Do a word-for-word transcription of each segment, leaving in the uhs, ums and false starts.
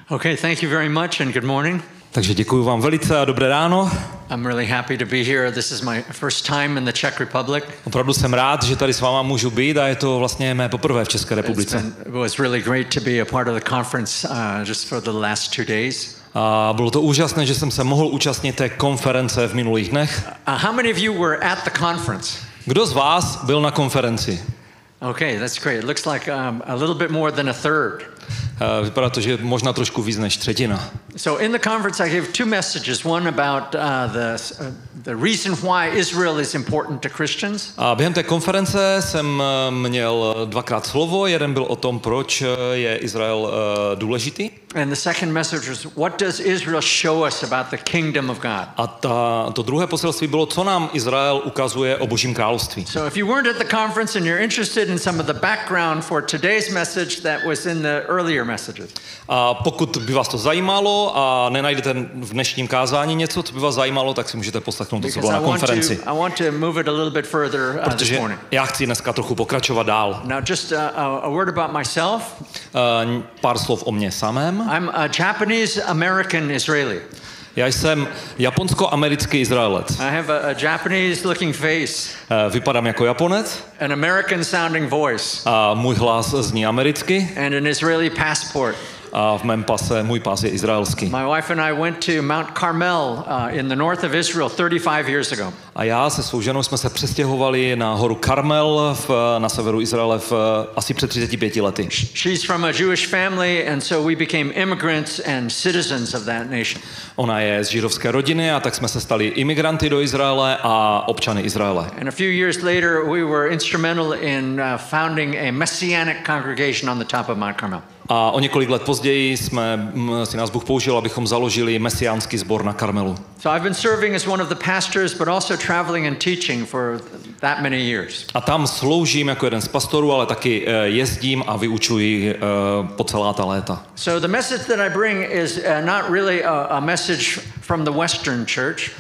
Okay, thank you very much and good morning. Takže děkuji vám velice a dobré ráno. I'm really happy to be here. This is my first time in the Czech Republic. Opravdu jsem rád, že tady s váma můžu být a je to vlastně mé poprvé v České republice. Been, it was really great to be a part of the conference uh, just for the last two days. A bylo to úžasné, že jsem se mohl účastnit té konference v minulých dnech. Uh, how many of you were at the conference? Kdo z vás byl na konferenci? Okay, that's great. It looks like um, a little bit more than a third. Uh, vypadá to, že možná trošku víc než třetina. So in the conference I gave two messages. One about uh, the uh, the reason why Israel is important to Christians. A během té konference jsem měl dvakrát slovo. Jeden byl o tom, proč je Izrael uh, důležitý. And the second message was, what does Israel show us about the kingdom of God? A ta, to druhé poselství bylo, co nám Izrael ukazuje o Božím království. So if you weren't at the conference and you're interested in some of the background for today's message that was in the earlier messages. A pokud by vás to zajímalo a nenajdete v dnešním kázání něco, co by vás zajímalo, tak si můžete poslechnout to, co bylo na konferenci. I want to move it a little bit further uh, this Protože morning. já chci dneska trochu pokračovat dál. Now just a, a word about myself. Uh, pár slov o mně samém. I'm a Japanese American Israeli. Já jsem japonsko-americký Izraelec. I have a, a Japanese looking face. Uh, vypadám jako Japonec. An American sounding voice. A můj hlas zní americky. And an Israeli passport. A v mém pase, můj pas je izraelský. My wife and I went to Mount Carmel uh, in the north of Israel thirty-five years ago. A já se svou ženou jsme se přestěhovali na horu Karmel v, na severu Izraele v, asi před třiceti pěti lety. She's from a Jewish family and so we became immigrants and citizens of that nation. Ona je z židovské rodiny a tak jsme se stali imigranty do Izraele a občany Izraele. And a few years later we were instrumental in uh, founding a messianic congregation on the top of Mount Carmel. A o několik let později jsme si nás Bůh použil, abychom založili mesiánský sbor na Karmelu. So I've been serving as one of the pastors, but also traveling and teaching for that many years. A tam sloužím jako jeden z pastorů, ale taky jezdím a vyučuji po celá ta léta. So the message that I bring is uh, not really a, a message from the Western church.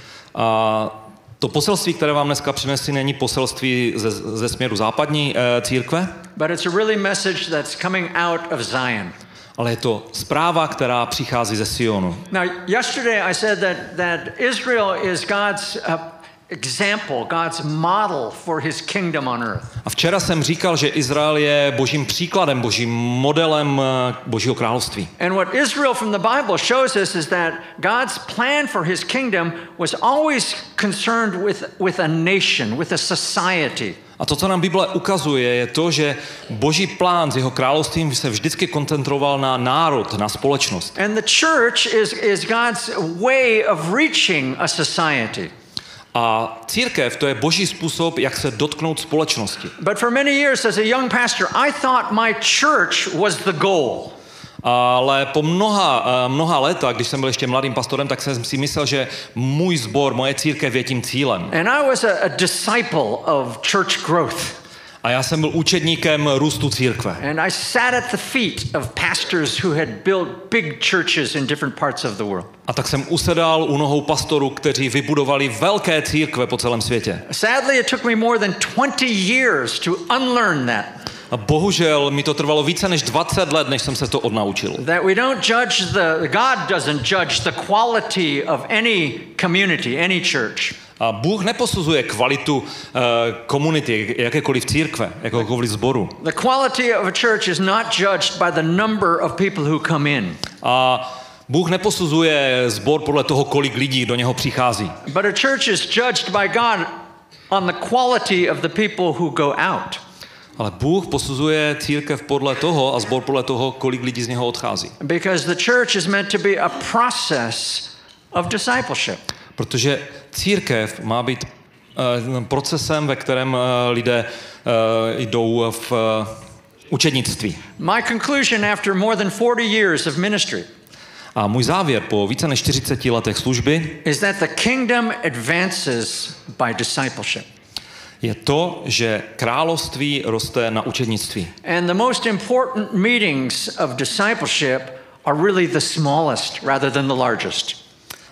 A to poselství, které vám dneska přinesli, není poselství ze, ze směru západní e, církve, but it's a really message that's coming out of Zion. Ale je to zpráva, která přichází ze Sionu. Now, yesterday I said that that Israel is God's uh, example, God's model for his kingdom on earth. A včera jsem říkal, že Izrael je božím příkladem, božím modelem Božího království. And what Israel from the Bible shows us is that God's plan for his kingdom was always concerned with with a nation, with a society. A to, co nám Bible ukazuje, je to, že Boží plán s jeho královstvím se vždycky koncentroval na národ, na společnost. And the church is is God's way of reaching a society. A církev, to je Boží způsob, jak se dotknout společnosti. But for many years as a young pastor, I thought my church was the goal. Ale po mnoha, mnoha léta, když jsem byl ještě mladým pastorem, tak jsem si myslel, že můj sbor, moje církev je tím cílem. And I was a, a disciple of church growth. A já jsem byl učedníkem růstu církve. And I sat at the feet of pastors who had built big churches in different parts of the world. A tak jsem usedal u nohou pastorů, kteří vybudovali velké církve po celém světě. Sadly, it took me more than twenty years to unlearn that. A bohužel mi to trvalo více než dvacet let, než jsem se to odnaučil. That we don't judge the God doesn't judge the quality of any community, any church. A Bůh neposuzuje kvalitu uh, komunity, jakékoliv církve, jakékoliv sboru. The quality of a church is not judged by the number of people who come in. A Bůh neposuzuje sbor podle toho, kolik lidí do něho přichází. But a church is judged by God on the quality of the people who go out. Ale Bůh posuzuje církev podle toho a sbor podle toho, kolik lidí z něho odchází. Because the church is meant to be a process of discipleship. Protože církev má být uh, procesem, ve kterém uh, lidé uh, jdou v uh, učednictví. My conclusion after more than forty years of ministry A můj závěr po více než čtyřiceti letech služby is that the kingdom advances by discipleship. Je to, že království roste na učednictví. And the most important meetings of discipleship are really the smallest rather than the largest.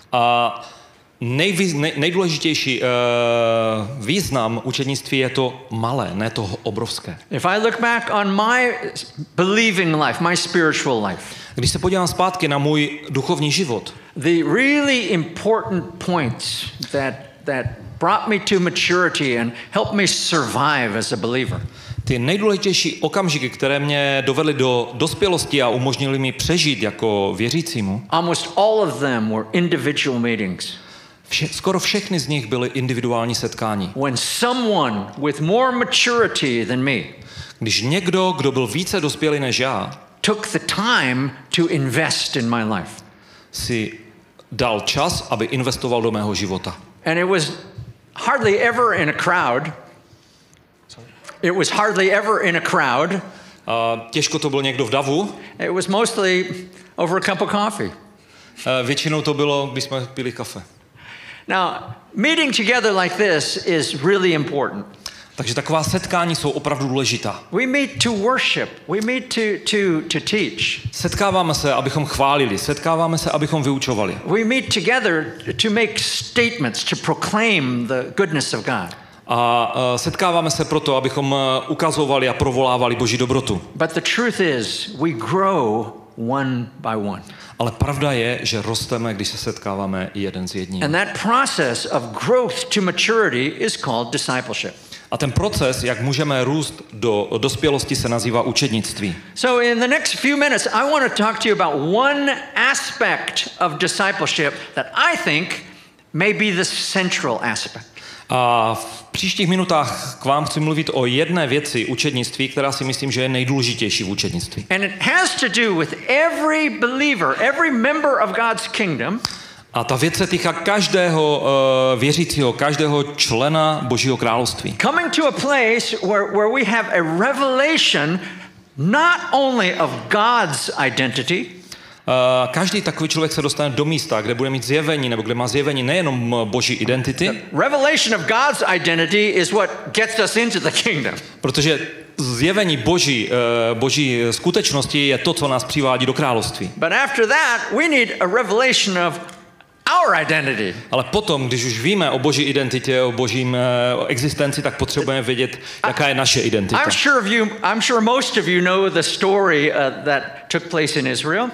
A nejvýz, nej, nejdůležitější uh, význam učednictví je to malé, ne to obrovské. If I look back on my believing life, my spiritual life, Když se podívám zpátky na můj duchovní život, the really important points that that brought me to maturity and helped me survive as a believer. Ty nejdůležitější okamžiky, které mě dovedly do dospělosti a umožnily mi přežít jako věřícímu, almost all of them were individual meetings. Vše, skoro všechny z nich byly individuální setkání. When someone with more maturity than me, když někdo, kdo byl více dospělý než já, took the time to invest in my life, si dal čas, aby investoval do mého života. and it was hardly ever in a crowd. It was hardly ever in a crowd. Uh, těžko to byl někdo v davu. It was mostly over a cup of coffee. Uh, většinou to bylo, když jsme pili kafe. Now, meeting together like this is really important. Takže taková setkání jsou opravdu důležitá. We meet to worship. We meet to, to, to teach. Setkáváme se, abychom chválili. Setkáváme se, abychom vyučovali. We meet together to make statements, to proclaim the goodness of God. A uh, setkáváme se proto, abychom uh, ukazovali a provolávali Boží dobrotu. But the truth is, we grow one by one. Ale pravda je, že rosteme, když se setkáváme jeden s jedním. And that process of growth to maturity is called discipleship. A ten proces, jak můžeme růst do dospělosti, se nazývá učednictví. So in the next few minutes, I want to talk to you about one aspect of discipleship that I think may be the central aspect. A v příštích minutách k vám chci mluvit o jedné věci učednictví, která si myslím, že je nejdůležitější v učednictví. And it has to do with every believer, every member of God's kingdom. A ta věc se týká každého uh, věřícího, každého člena Božího království. Coming to a place where, where we have a revelation not only of God's identity, Uh, každý takový člověk se dostane do místa, kde bude mít zjevení, nebo kde má zjevení nejenom Boží identity. Revelation of God's identity is what gets us into the kingdom. Protože zjevení Boží, uh, Boží skutečnosti je to, co nás přivádí do království. But after that, we need a revelation of our identity. Ale potom, když už víme o Boží identitě, o Božím uh, existenci, tak potřebujeme vědět, jaká je naše identita. I'm sure of you, I'm sure most of you know the story uh, that took place in Israel.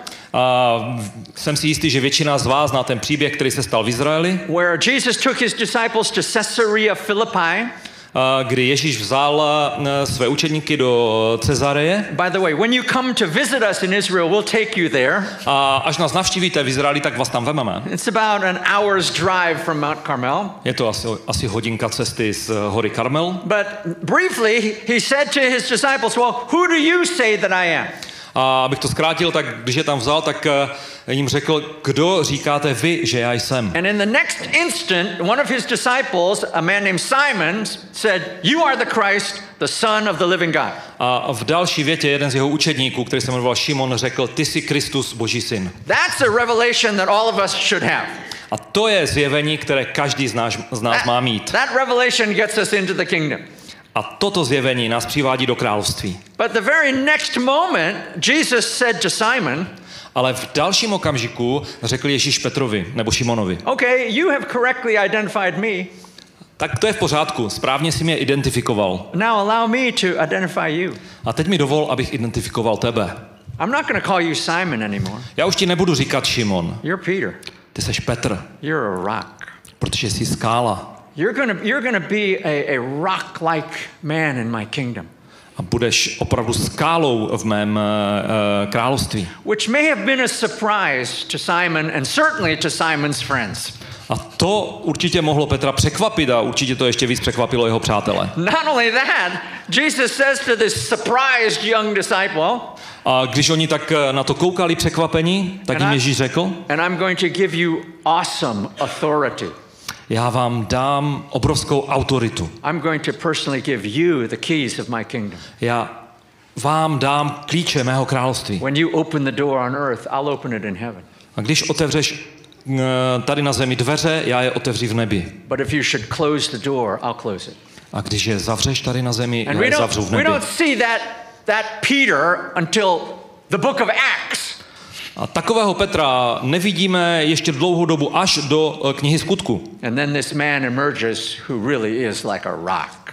A jsem si jistý, že většina z vás zná ten příběh, který se stal v Izraeli, where Jesus took his disciples to Caesarea Philippi. kdy Ježíš vzal své učedníky do Cezareje. By the way, when you come to visit us in Israel, we'll take you there. A až nás navštívíte v Izraeli, tak vás tam vememe. It's about an hour's drive from Mount Carmel. Je to asi, asi hodinka cesty z hory Karmel. But briefly, he said to his disciples, well, who do you say that I am? A abych to zkrátil, tak když je tam vzal, tak jim řekl, kdo říkáte vy, že já jsem. And in the next instant, one of his disciples, a man named Simon, said, you are the Christ, the Son of the living God. A v další větě jeden z jeho učedníků, který se jmenoval Šimon, řekl, ty jsi Kristus, Boží syn. That's a revelation that all of us should have. A to je zjevení, které každý z nás, z nás má mít. That revelation gets us into the kingdom. A toto zjevení nás přivádí do království. But the very next moment, Jesus said to Simon, ale v dalším okamžiku řekl Ježíš Petrovi nebo Šimonovi. Okay, you have correctly identified me. Tak to je v pořádku, správně si mě identifikoval. Now allow me to identify you. A teď mi dovol, abych identifikoval tebe. I'm not going to call you Simon anymore. Já už ti nebudu říkat Šimon. You're Peter. Ty seš Petr. You're a rock. Protože jsi skála. You're going to you're going to be a, a rock-like man in my kingdom. A budeš opravdu skálou v mém uh, království. Which may have been a surprise to Simon and certainly to Simon's friends. A to určitě mohlo Petra překvapit a určitě to ještě víc překvapilo jeho přátele. Not only that, Jesus says to this surprised young disciple, a když oni tak na to koukali překvapení, tak jim Ježíš řekl, and I'm going to give you awesome authority. Já vám dám obrovskou autoritu. I'm going to personally give you the keys of my kingdom. Já vám dám klíče mého království. When you open the door on earth, I'll open it in heaven. A když otevřeš tady na zemi dveře, já je otevřu v nebi. But if you should close the door, I'll close it. A když je zavřeš tady na zemi, And já je zavřu v nebi. We don't see that that Peter until the book of Acts. A takového Petra nevidíme ještě dlouhou dobu až do knihy Skutku. And then this man emerges who really is like a rock.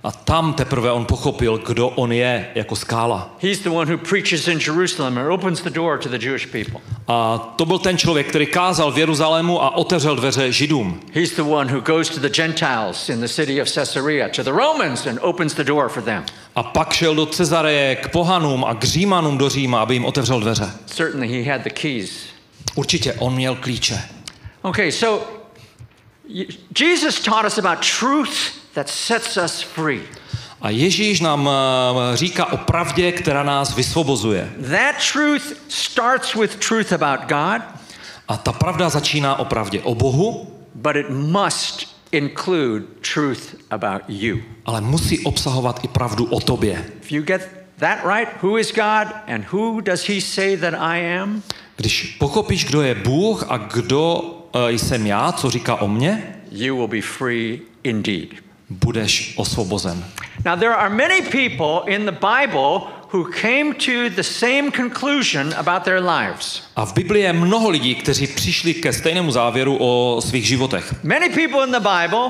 A tam teprve on pochopil, kdo on je jako skála. He's the one who preaches in Jerusalem and opens the door to the Jewish people. A to byl ten člověk, který kázal v Jeruzalému a otevřel dveře Židům. He's the one who goes to the Gentiles in the city of Caesarea, to the Romans, and opens the door for them. A pak šel do Cezareje k pohanům a k Římanům do Říma, aby jim otevřel dveře. Certainly he had the keys. Určitě on měl klíče. Okay, so Jesus taught us about truth that sets us free. A Ježíš nám říká o pravdě, která nás vysvobozuje. That truth starts with truth about God. A ta pravda začíná o pravdě o Bohu, but it must include truth about you. Ale musí obsahovat i pravdu o tobě. If you get that right, who is God and who does he say that I am? Když pochopíš, kdo je Bůh a kdo uh, jsem já, co říká o mně, you will be free indeed. Budeš osvobozen. Now there are many people in the Bible who came to the same conclusion about their lives. A v Biblii je mnoho lidí, kteří přišli ke stejnému závěru o svých životech. Many people in the Bible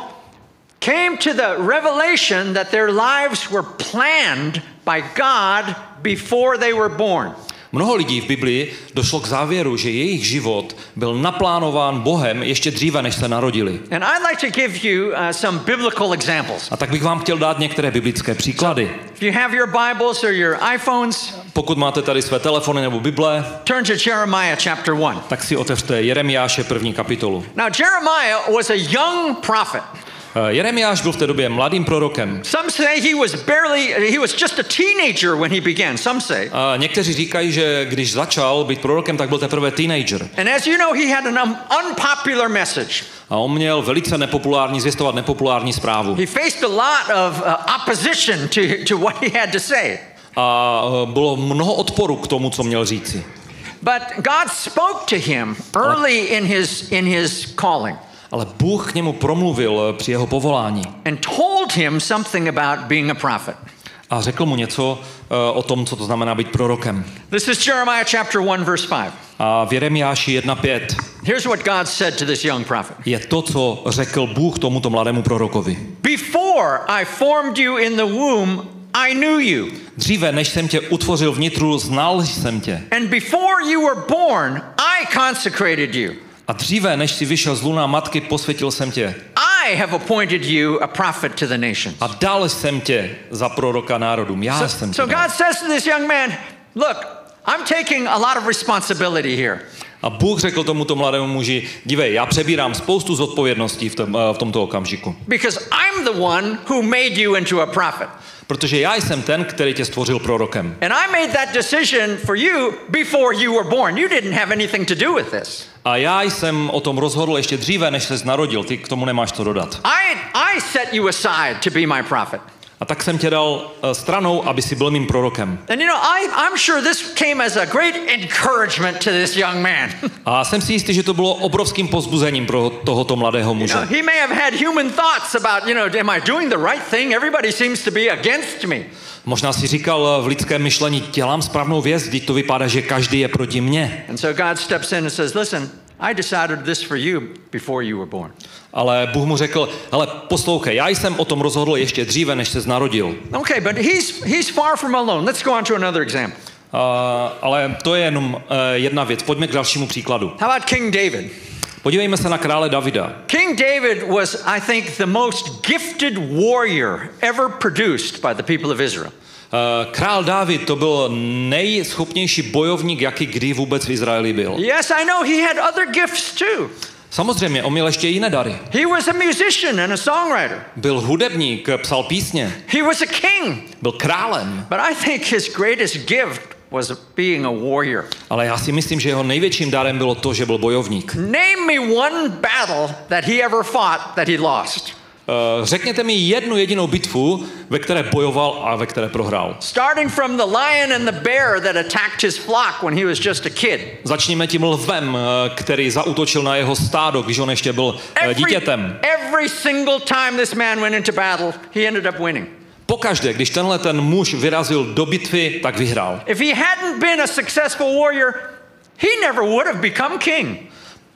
came to the revelation that their lives were planned by God before they were born. Mnoho lidí v Biblii došlo k závěru, že jejich život byl naplánován Bohem ještě dříve, než se narodili. And I'd like to give you uh, some biblical examples. A tak bych vám chtěl dát některé biblické příklady. If you have your Bibles or your iPhones, pokud máte tady své telefony nebo Bible, turn to Jeremiah chapter one. Tak si otevřte Jeremiáše první kapitolu. Now Jeremiah was a young prophet. Jeremiáš byl v té době mladým prorokem. Some say he was barely he was just a teenager when he began. Some say. A někteří říkají, že když začal být prorokem, tak byl teprve teenager. And as you know, he had an unpopular message. A on měl velice nepopulární, zvěstovat nepopulární zprávu. He faced a lot of uh, opposition to to what he had to say. A bylo mnoho odporu k tomu, co měl říci. But God spoke to him early in his in his calling. Ale Bůh k němu promluvil při jeho povolání. And told him something about being a prophet. A řekl mu něco uh, o tom, co to znamená být prorokem. This is Jeremiah chapter one verse five. A v Jeremiáši jedna pět. Here's what God said to this young prophet. Je to, co řekl Bůh tomuto mladému prorokovi. Before I formed you in the womb, I knew you. Dříve, než jsem tě utvořil vnitru, znal jsem tě. And before you were born, I consecrated you. A dříve, než jsi vyšel z luna matky, posvětil jsem tě. I have appointed you a prophet to the nations. A dal jsem tě za proroka národům. Já so, jsem tě so dal. God says to this young man, look, I'm taking a lot of responsibility here. A Bůh řekl tomuto mladému muži, dívej, já přebírám spoustu zodpovědností v, tom, v tomto okamžiku. Because I'm the one who made you into a prophet. Protože já jsem ten, který tě stvořil prorokem. And I made that decision for you before you were born. You didn't have anything to do with this. A já jsem o tom rozhodl ještě dříve, než ses narodil. Ty k tomu nemáš co dodat. I, I set you aside to be my prophet. A tak jsem tě dal stranou, aby si byl mým prorokem. And you know, I, I'm sure this came as a great encouragement to this young man. A jsem si jistý, že to bylo obrovským povzbuzením pro tohoto mladého muže. You know, he may have had human thoughts about, you know, am I doing the right thing? Everybody seems to be against me. Možná si říkal v lidském myšlení, dělám správnou věc, vždyť to vypadá, že každý je proti mně. And so God steps in and says, listen, I decided this for you before you were born. Ale Bůh mu řekl, hele, poslouchej, já jsem o tom rozhodl ještě dříve, než ses narodil. Okay, but he's he's far from alone. Let's go on to another example. Uh, ale to je jenom uh, jedna věc. Pojďme k dalšímu příkladu. How about King David? Podívejme se na krále Davida. King David was, I think, the most gifted warrior ever produced by the people of Israel. Uh, král Dávid to byl nejschopnější bojovník, jaký kdy vůbec v Izraeli byl. Yes, I know he had other gifts too. Samozřejmě, on měl ještě jiné dary. He was a musician and a songwriter. Byl hudebník, psal písně. He was a king. Byl králem. But I think his greatest gift was being a warrior. Ale já si myslím, že jeho největším darem bylo to, že byl bojovník. Name me one battle that he ever fought that he lost. Uh, řekněte mi jednu jedinou bitvu, ve které bojoval a ve které prohrál. Starting from the lion and the bear that attacked his flock when he was just a kid. Začněme tím lvem, který zaútočil na jeho stádo, když on ještě byl every, dítětem. Every single time this man went into battle, he ended up winning. Pokaždé, když tenhle ten muž vyrazil do bitvy, tak vyhrál. If he hadn't been a successful warrior, he never would have become king.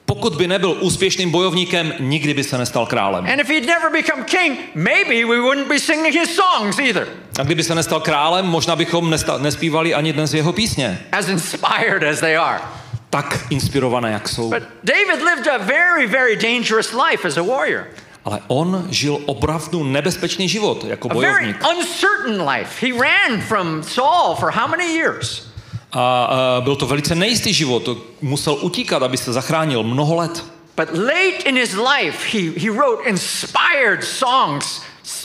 pokud by nebyl úspěšným bojovníkem, nikdy by se nestal králem. And if he'd never become king, maybe we wouldn't be singing his songs either. A kdyby se nestal králem, možná bychom nesta- nespívali ani dnes jeho písně. As inspired as they are. Tak inspirované, jak jsou. But David lived a very, very dangerous life as a warrior. Ale on žil opravdu nebezpečný život jako A very bojovník. uncertain life. He ran from Saul for how many years? A, a byl to velice nejistý život. Musel utíkat, aby se zachránil mnoho let. But late in his life, he, he wrote inspired songs,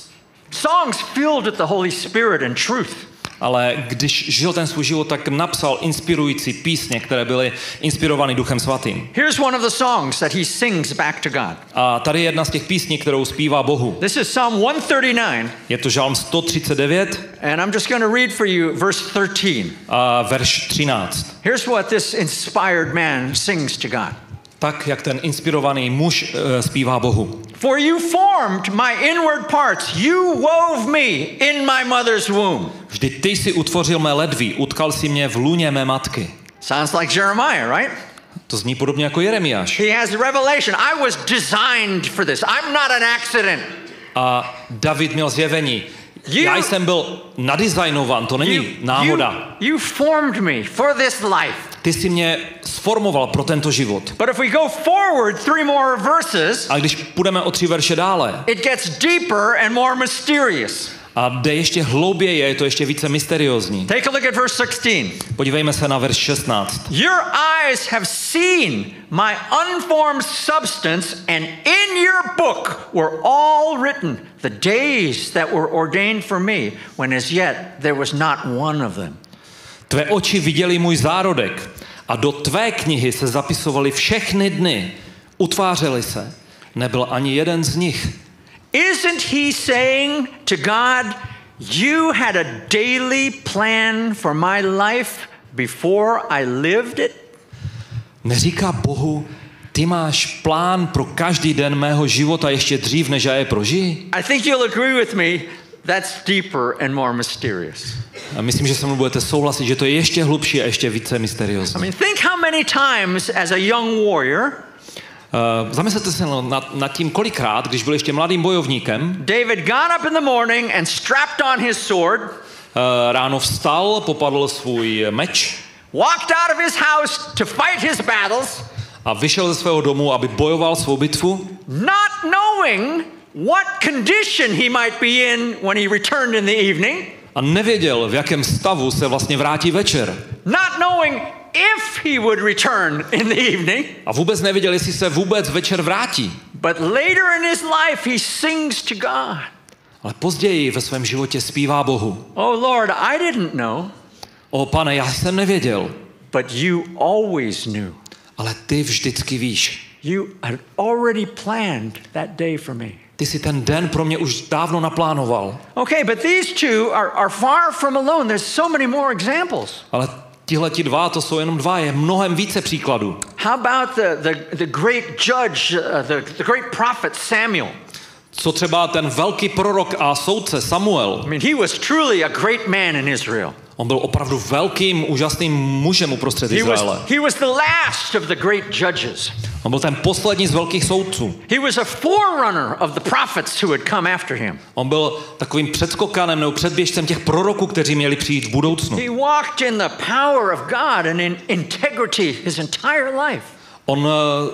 songs filled with the Holy Spirit and truth. Ale když žil ten svůj život, tak napsal inspirující písně, které byly inspirovány Duchem Svatým. Here's one of the songs that he sings back to God. A tady je jedna z těch písní, kterou zpívá Bohu. This is Psalm one thirty-nine. Je to žálm sto třicet devět. And I'm just going to read for you verse thirteen. A verš třináct. Here's what this inspired man sings to God. Tak, jak ten inspirovaný muž uh, zpívá Bohu. For you formed my inward parts, you wove me in my mother's womb. Vždyť ty jsi utvořil mé ledví, utkal si mě v lůně mé matky. Sounds like Jeremiah, right? To zní podobně jako Jeremiáš. He has a revelation. I was designed for this. I'm not an accident. A David měl zjevení. You, Já jsem byl nadizajnovan, to není you, náhoda. You, you formed me for this life. Ty jsi mě sformoval pro tento život. But if we go forward three more verses, a když půjdeme o tři verše dále, it gets deeper and more mysterious. a jde ještě hlouběji, je to ještě více mysteriózní. Take a look at verse sixteen. Podívejme se na verš šestnáct. Your eyes have seen my unformed substance, and in your book were all written the days that were ordained for me, when as yet there was not one of them. Tvé oči viděly můj zárodek a do tvé knihy se zapisovaly všechny dny. Utvářely se. Nebyl ani jeden z nich. Isn't he saying to God, you had a daily plan for my life before I lived it? Neříká Bohu, ty máš plán pro každý den mého života ještě dřív, než já je prožiji? I think you'll agree with me, that's deeper and more mysterious. A myslím, že se mnou budete souhlasit, že to je ještě hlubší a ještě více I mysteriózní. mean, think how many times as a young warrior, Uh, zamyslete se nad, nad tím, kolikrát, když byl ještě mladým bojovníkem, David got up in the morning and strapped on his sword, uh, ráno vstal, popadl svůj meč walked out of his house to fight his battles, a vyšel ze svého domu, aby bojoval svou bitvu, not knowing what condition he might be in when he returned in the evening, a nevěděl, v jakém stavu se vlastně vrátí večer. not knowing if he would return in the evening. A vůbec nevěděl, jestli se vůbec večer vrátí. But later in his life he sings to God. Ale později ve svém životě zpívá Bohu. Oh Lord, I didn't know, O Pane, já jsem nevěděl, but you always knew. ale ty vždycky víš. You had already planned that day for me. Ty si ten den pro mě už dávno naplánoval. Okay, but these two are, are far from alone. There's so many more examples. Ale tihleti dva, to jsou jenom dva, je mnohem více příkladů. How about the, the, the great judge, uh, the, the great prophet Samuel? Co třeba ten velký prorok a soudce Samuel? I mean, he was truly a great man in Israel. On byl opravdu velkým, úžasným mužem uprostřed He Izraele. was, he was the last of the great judges. On byl ten poslední z velkých soudců. He was a forerunner of the prophets who had come after him. On byl takovým předskokanem nebo předběžcem těch proroků, kteří měli přijít v budoucnu. He walked in the power of God and in integrity his entire life. On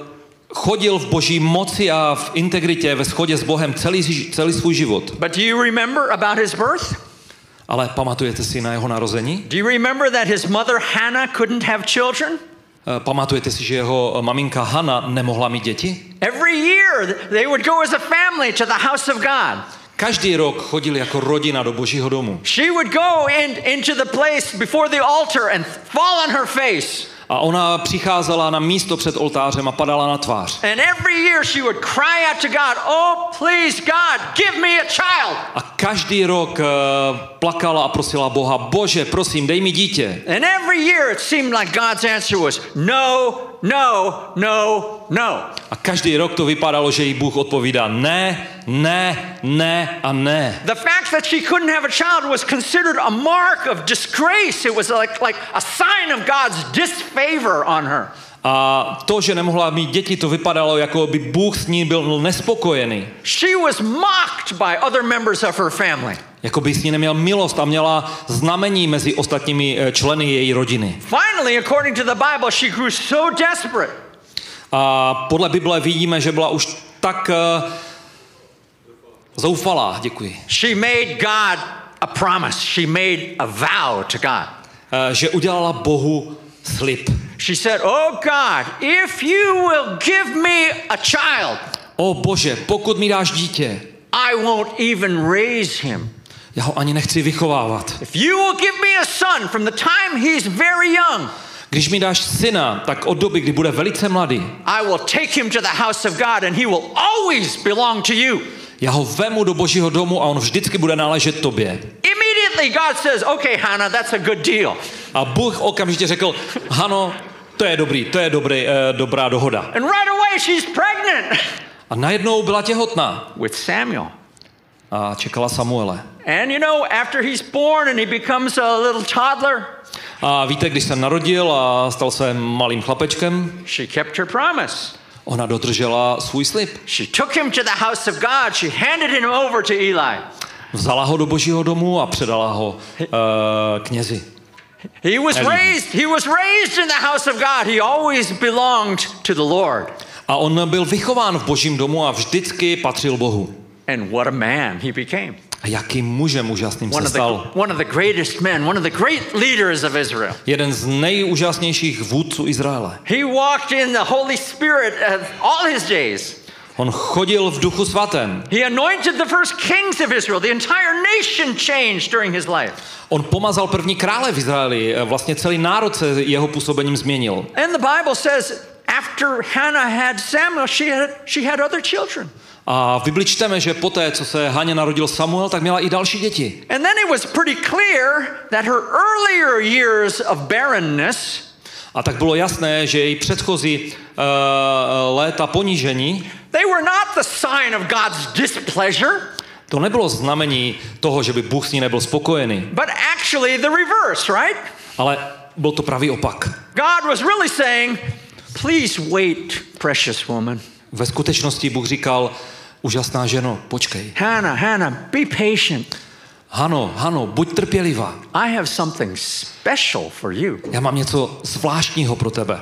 chodil v boží moci a v integritě, ve shodě s Bohem celý, celý svůj život. But do you remember about his birth? Ale pamatujete si na jeho narození? Do you remember that his mother Hannah couldn't have children? Pamatujete si, že jeho maminka Hana nemohla mít děti? Every year they would go as a family to the house of God. Každý rok chodili jako rodina do Božího domu. She would go in, into the place before the altar and fall on her face. A ona přicházela na místo před oltářem a padala na tvář. And every year she would cry out to God, "Oh, please God, give me a child." A každý rok uh, plakala a prosila Boha, Bože, prosím, dej mi dítě. And every year it seemed like God's answer was no, no, no, no. A každý rok to vypadalo, že jí Bůh odpovídá ne, ne, ne a ne. The fact that she couldn't have a child was considered a mark of disgrace. It was like, like a sign of God's disfavor on her. A to, že nemohla mít děti, to vypadalo, jako by Bůh s ní byl nespokojený. She was mocked by other members of her family. Jako by s ní neměl milost a měla znamení mezi ostatními členy její rodiny. Finally, according to the Bible, she grew so desperate. A podle Bible vidíme, že byla už tak uh, zoufalá, děkuji. She made God a promise. She made a vow to God. Uh, že udělala Bohu slib. She said, "Oh God, if you will give me a child, O Bože, pokud mi dáš dítě, I won't even raise him. já ho ani nechci vychovávat. If you will give me a son from the time he's very young, Když mi dáš syna, tak od doby, kdy bude velice mladý, I will take him to the house of God and he will always belong to you." já ho vemu do Božího domu a on vždycky bude náležet tobě. Immediately God says, "Okay, Hannah, that's a good deal." A Bůh okamžitě řekl, Hano, to je dobrý, to je dobrý, eh, dobrá dohoda. And right away she's pregnant A najednou byla těhotná with Samuel. a čekala Samuele. And you know, after he's born and he becomes a little toddler, A víte, když se narodil a stal se malým chlapečkem, she kept her promise. ona dodržela svůj slib. She took him to the house of God. She handed him over to Eli. Vzala ho do Božího domu a předala ho uh, knězi. He was Eli. raised, he was raised in the house of God. He always belonged to the Lord. A on byl vychován v Božím domu a vždycky patřil Bohu. And what a man he became. A jakým mužem úžasným One se of, the, stal. one of the greatest men, one of the great leaders of Israel. Jeden z nejúžasnějších vůdců Izraele. He walked in the Holy Spirit uh, all his days. On chodil v duchu svatém. He anointed the first kings of Israel. The entire nation changed during his life. On pomazal první krále v Izraeli. Vlastně celý národ se jeho působením změnil. And the Bible says after Hannah had Samuel, she had, she had other children. A v Bibli čteme, že poté, co se Haně narodil Samuel, tak měla i další děti. And then it was pretty clear that her earlier years of barrenness A tak bylo jasné, že její předchozí uh, léta ponížení, they were not the sign of God's displeasure, to nebylo znamení toho, že by Bůh s ní nebyl spokojený, but actually the reverse, right? ale byl to pravý opak. God was really saying, "Please wait, precious woman. Ve skutečnosti Bůh říkal, úžasná ženo, počkej. Hannah, Hannah, be patient. Hano, Hano, buď trpělivá. I have something special for you." Já mám něco zvláštního pro tebe.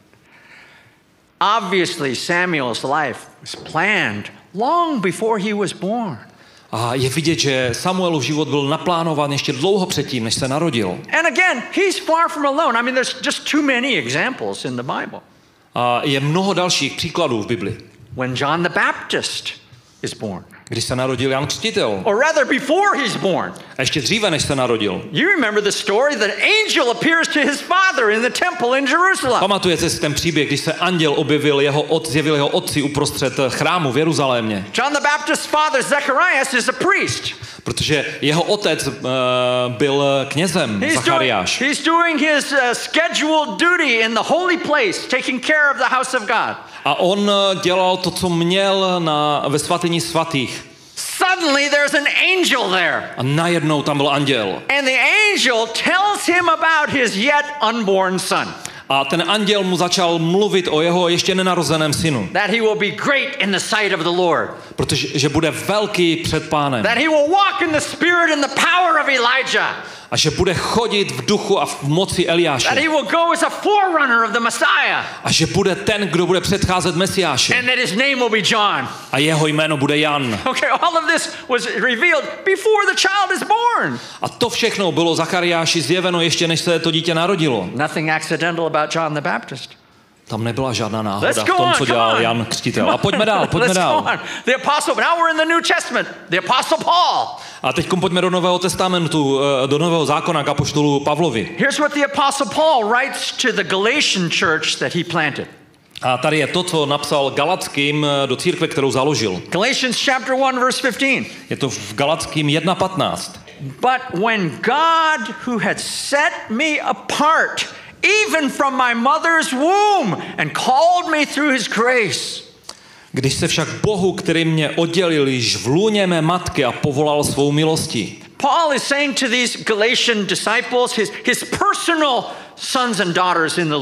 Obviously, Samuel's life was planned long before he was born. A je vidět, že Samuelův život byl naplánován ještě dlouho předtím, než se narodil. And again, he's far from alone. I mean, there's just too many examples in the Bible. A je mnoho dalších příkladů v Bibli. When John the Baptist is born, Když se narodil Jan Křtitel, or rather before he's born. a ještě dříve, než se narodil. You remember the story that angel appears to his father in the temple in Jerusalem. Pamatujete si ten příběh, když se anděl objevil jeho od, zjevil jeho otci uprostřed chrámu v Jeruzalémě? John the Baptist's father, Zacharias, is a priest. Protože jeho otec uh, byl knězem, He's doing, Zachariáš. he's doing his uh, scheduled duty in the holy place, taking care of the house of God. A on dělal to, co měl na, ve svatyni svatých. Suddenly there's an angel there. A najednou tam byl anděl. And the angel tells him about his yet unborn son. A ten anděl mu začal mluvit o jeho ještě nenarozeném synu. That he will be great in the sight of the Lord. Protože že bude velký před Pánem. That he will walk in the spirit and the power of Elijah. A že bude chodit v duchu a v moci Eliáše. That he will go as a forerunner of the Messiah. A že bude ten, kdo bude předcházet Mesiáši. And that his name will be John. A jeho jméno bude Jan. Okay, all of this was revealed before the child is born. A to všechno bylo Zachariáši zjeveno ještě než se to dítě narodilo. Nothing accidental about John the Baptist. Tam nebyla žádná náhoda Let's v go tom, on, co come dělal on. Jan Křtitel. A pojďme dál, pojďme Let's dál. go on. The apostle, now we're in the New Testament. The apostle Paul. A teď pojďme do Nového testamentu, do Nového zákona k apoštolu Pavlovi. Here's what the apostle Paul writes to the Galatian church that he planted. A tady je to, co napsal Galackým do církve, kterou založil. Galatians chapter one verse fifteen. Je to v Galackým jedna patnáct. But when God, who had set me apart, even from my mother's womb, and called me through his grace. Když se však Bohu, který mě oddělil již v lůně mé matky a povolal svou milostí. Paul is saying to these Galatian disciples, his, his personal sons and daughters in the Lord.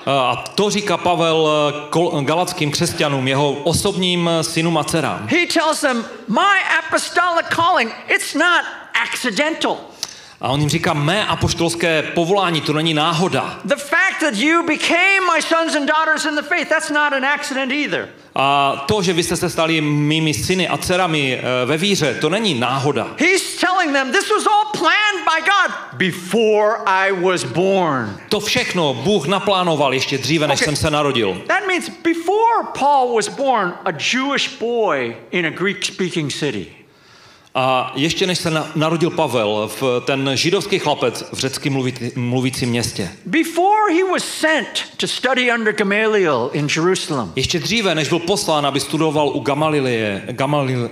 A to říká Pavel galackým křesťanům, jeho osobním synům a dcerám. He tells them, my apostolic calling, it's not accidental. A on jim říká, mé apoštolské povolání, to není náhoda. The fact that you became my sons and daughters in the faith, that's not an accident either. A to, že vy jste se stali mými syny a dcerami ve víře, to není náhoda. He's telling them this was all planned by God before I was born. To všechno Bůh naplánoval ještě dříve, než Okay. jsem se narodil. That means before Paul was born, a Jewish boy in a Greek-speaking city. A ještě než se na, narodil Pavel, v ten židovský chlapec v řecky mluvit, mluvícím městě. Before he was sent to study under Gamaliel in Jerusalem. Ještě dříve, než byl poslán, aby studoval u Gamalileje, Gamalilea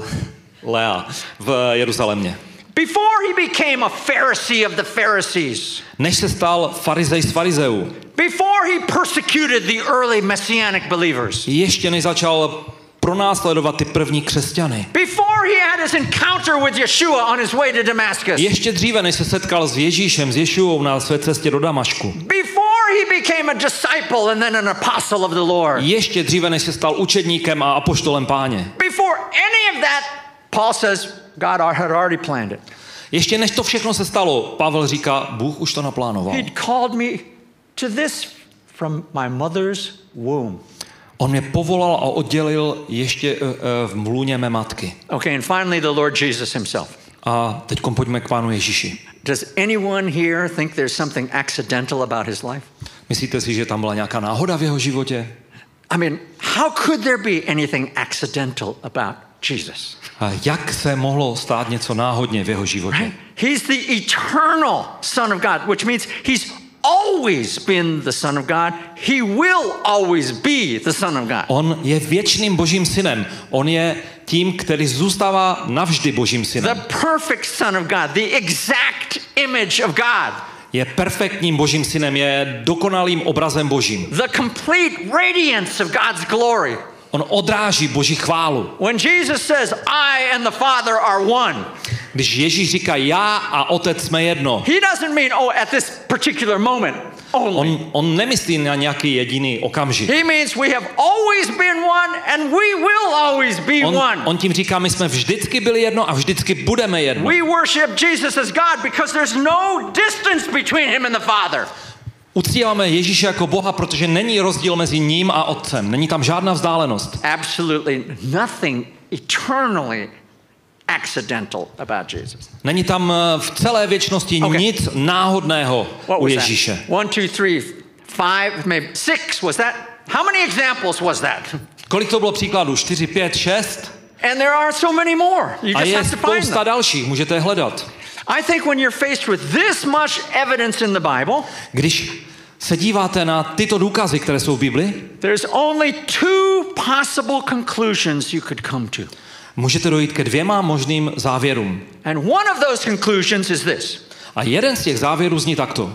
v Jeruzalémě. Before he became a Pharisee of the Pharisees. Než se stal farizej z farizeů. Before he persecuted the early messianic believers. Ještě než začal pronásledovat ty první křesťany. Before he had his encounter with Yeshua on his way to Damascus. Ještě dříve, než se setkal s Ježíšem, s Ješuou na své cestě do Damašku. Before he became a disciple and then an apostle of the Lord. Ještě dříve, než se stal učedníkem a apoštolem Páně. Before any of that, Paul says God had already planned it. Ještě než to všechno se stalo, Pavel říká, Bůh už to naplánoval. He'd called me to this from my mother's womb. On mě povolal a oddělil ještě uh, uh, v mlůně mé matky. Okay, and finally the Lord Jesus himself. A teď pojďme k Pánu Ježíši. Does anyone here think there's something accidental about his life? Myslíte si, že tam byla nějaká náhoda v jeho životě? I mean, how could there be anything accidental about Jesus? A jak se mohlo stát něco náhodně v jeho životě? Right? He's the eternal Son of God, which means he's always been the Son of God. He will always be the Son of God. On je věčným Božím synem. On je tím, který zůstává navždy Božím synem. The perfect Son of God, the exact image of God. Je perfektním Božím synem, je dokonalým obrazem Božím. The complete radiance of God's glory. On odráží Boží chválu. When Jesus says, I and the Father are one. Když Ježíš říká, já a Otec jsme jedno. He doesn't mean, oh, at this particular moment only. On, on nemyslí na nějaký jediný okamžik. He means we have always been one and we will always be On, one. on tím říká, my jsme vždycky byli jedno a vždycky budeme jedno. We worship Jesus as God because there's no distance between him and the Father. Uctíváme Ježíše jako Boha, protože není rozdíl mezi ním a Otcem. Není tam žádná vzdálenost. Absolutely nothing eternally accidental about Jesus. Není tam v celé věčnosti Okay. nic náhodného What u was Ježíše. that? One, two, three, five, maybe six. Was that? How many examples was that? Kolik to bylo příkladů? Čtyři, pět, šest? And there are so many more. You A just je have to find spousta them. dalších, můžete je hledat. I think when you're faced with this much evidence in the Bible, Když se díváte na tyto důkazy, které jsou v Bibli, there's only two possible conclusions you could come to. můžete dojít ke dvěma možným závěrům. And one of those conclusions is this. A jeden z těch závěrů zní takto.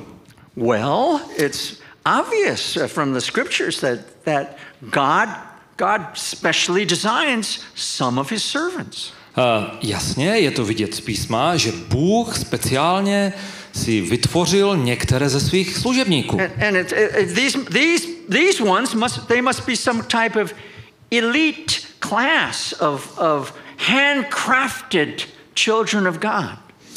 Well, it's obvious from the scriptures that, that God, God specially designs some of his servants. Uh, jasně, je to vidět z písma, že Bůh speciálně si vytvořil některé ze svých služebníků. And, and it, it, these, these, these ones, must, they must be some type of elite class of, of handcrafted children of God.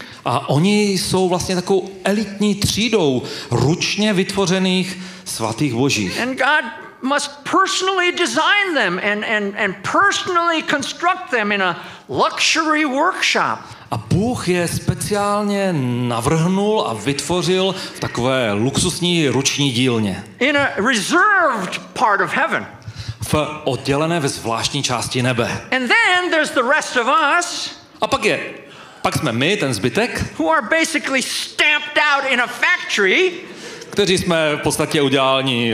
A oni jsou vlastně takovou elitní třídou ručně vytvořených svatých božích. And God must personally design them and, and, and personally construct them in a luxury workshop. A Bůh je speciálně navrhnul a vytvořil v takové luxusní ruční dílně. In a reserved part of heaven. V oddělené ve zvláštní části nebe. And then there's the rest of us. A pak je, pak jsme my, ten zbytek, Who are basically stamped out in a factory. kteří jsme v podstatě uděláni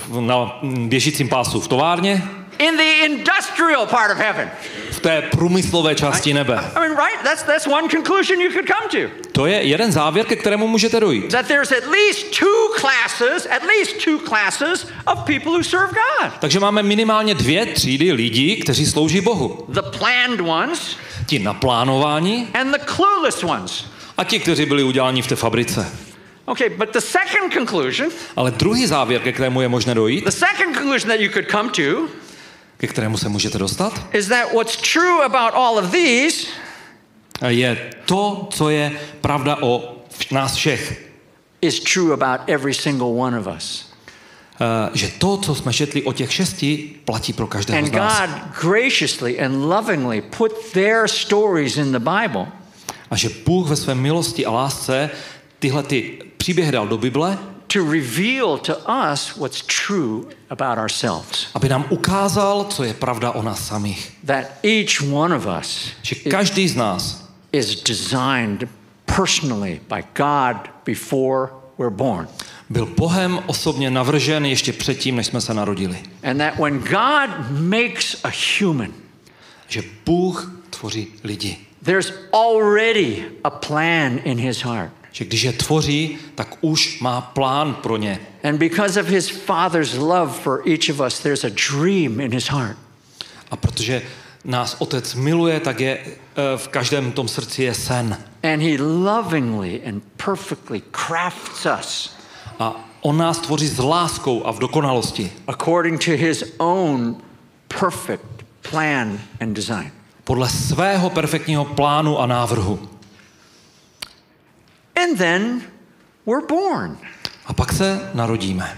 na běžícím pásu v továrně. In the industrial part of heaven. V té průmyslové části nebe. I mean, right? That's that's one conclusion you could come to. To je jeden závěr, ke kterému můžete dojít. That there's at least two classes, at least two classes of people who serve God. Takže máme minimálně dvě třídy lidí, kteří slouží Bohu. The planned ones Ti naplánování and the clueless ones. a ti, kteří byli uděláni v té fabrice. Okay, but the second conclusion, Ale druhý závěr, ke kterému je možné dojít, the second conclusion that you could come to, ke kterému se můžete dostat, is that what's true about all of these je to, co je pravda o nás všech. is true about every single one of us. Uh, že to, co jsme četli o těch šesti, platí pro každého And z nás. God graciously and lovingly put their stories in the Bible A že Bůh ve své milosti a lásce tyhle ty příběhy dal do Bible, to reveal to us what's true about ourselves. aby nám ukázal, co je pravda o nás samých. That each one of us Že každý z nás is designed personally by God before we're born. byl Bohem osobně navržen ještě předtím, než jsme se narodili. And that when God makes a human, Že Bůh tvoří lidi. there's already a plan in his heart. Že když je tvoří, tak už má plán pro ně. And because of his Father's love for each of us, there's a dream in his heart. A protože nás Otec miluje, tak je v každém tom srdci je sen. And he lovingly and perfectly crafts us A on nás tvoří s láskou a v dokonalosti. according to his own perfect plan and design. Podle svého perfektního plánu a návrhu. And then we're born. A pak se narodíme.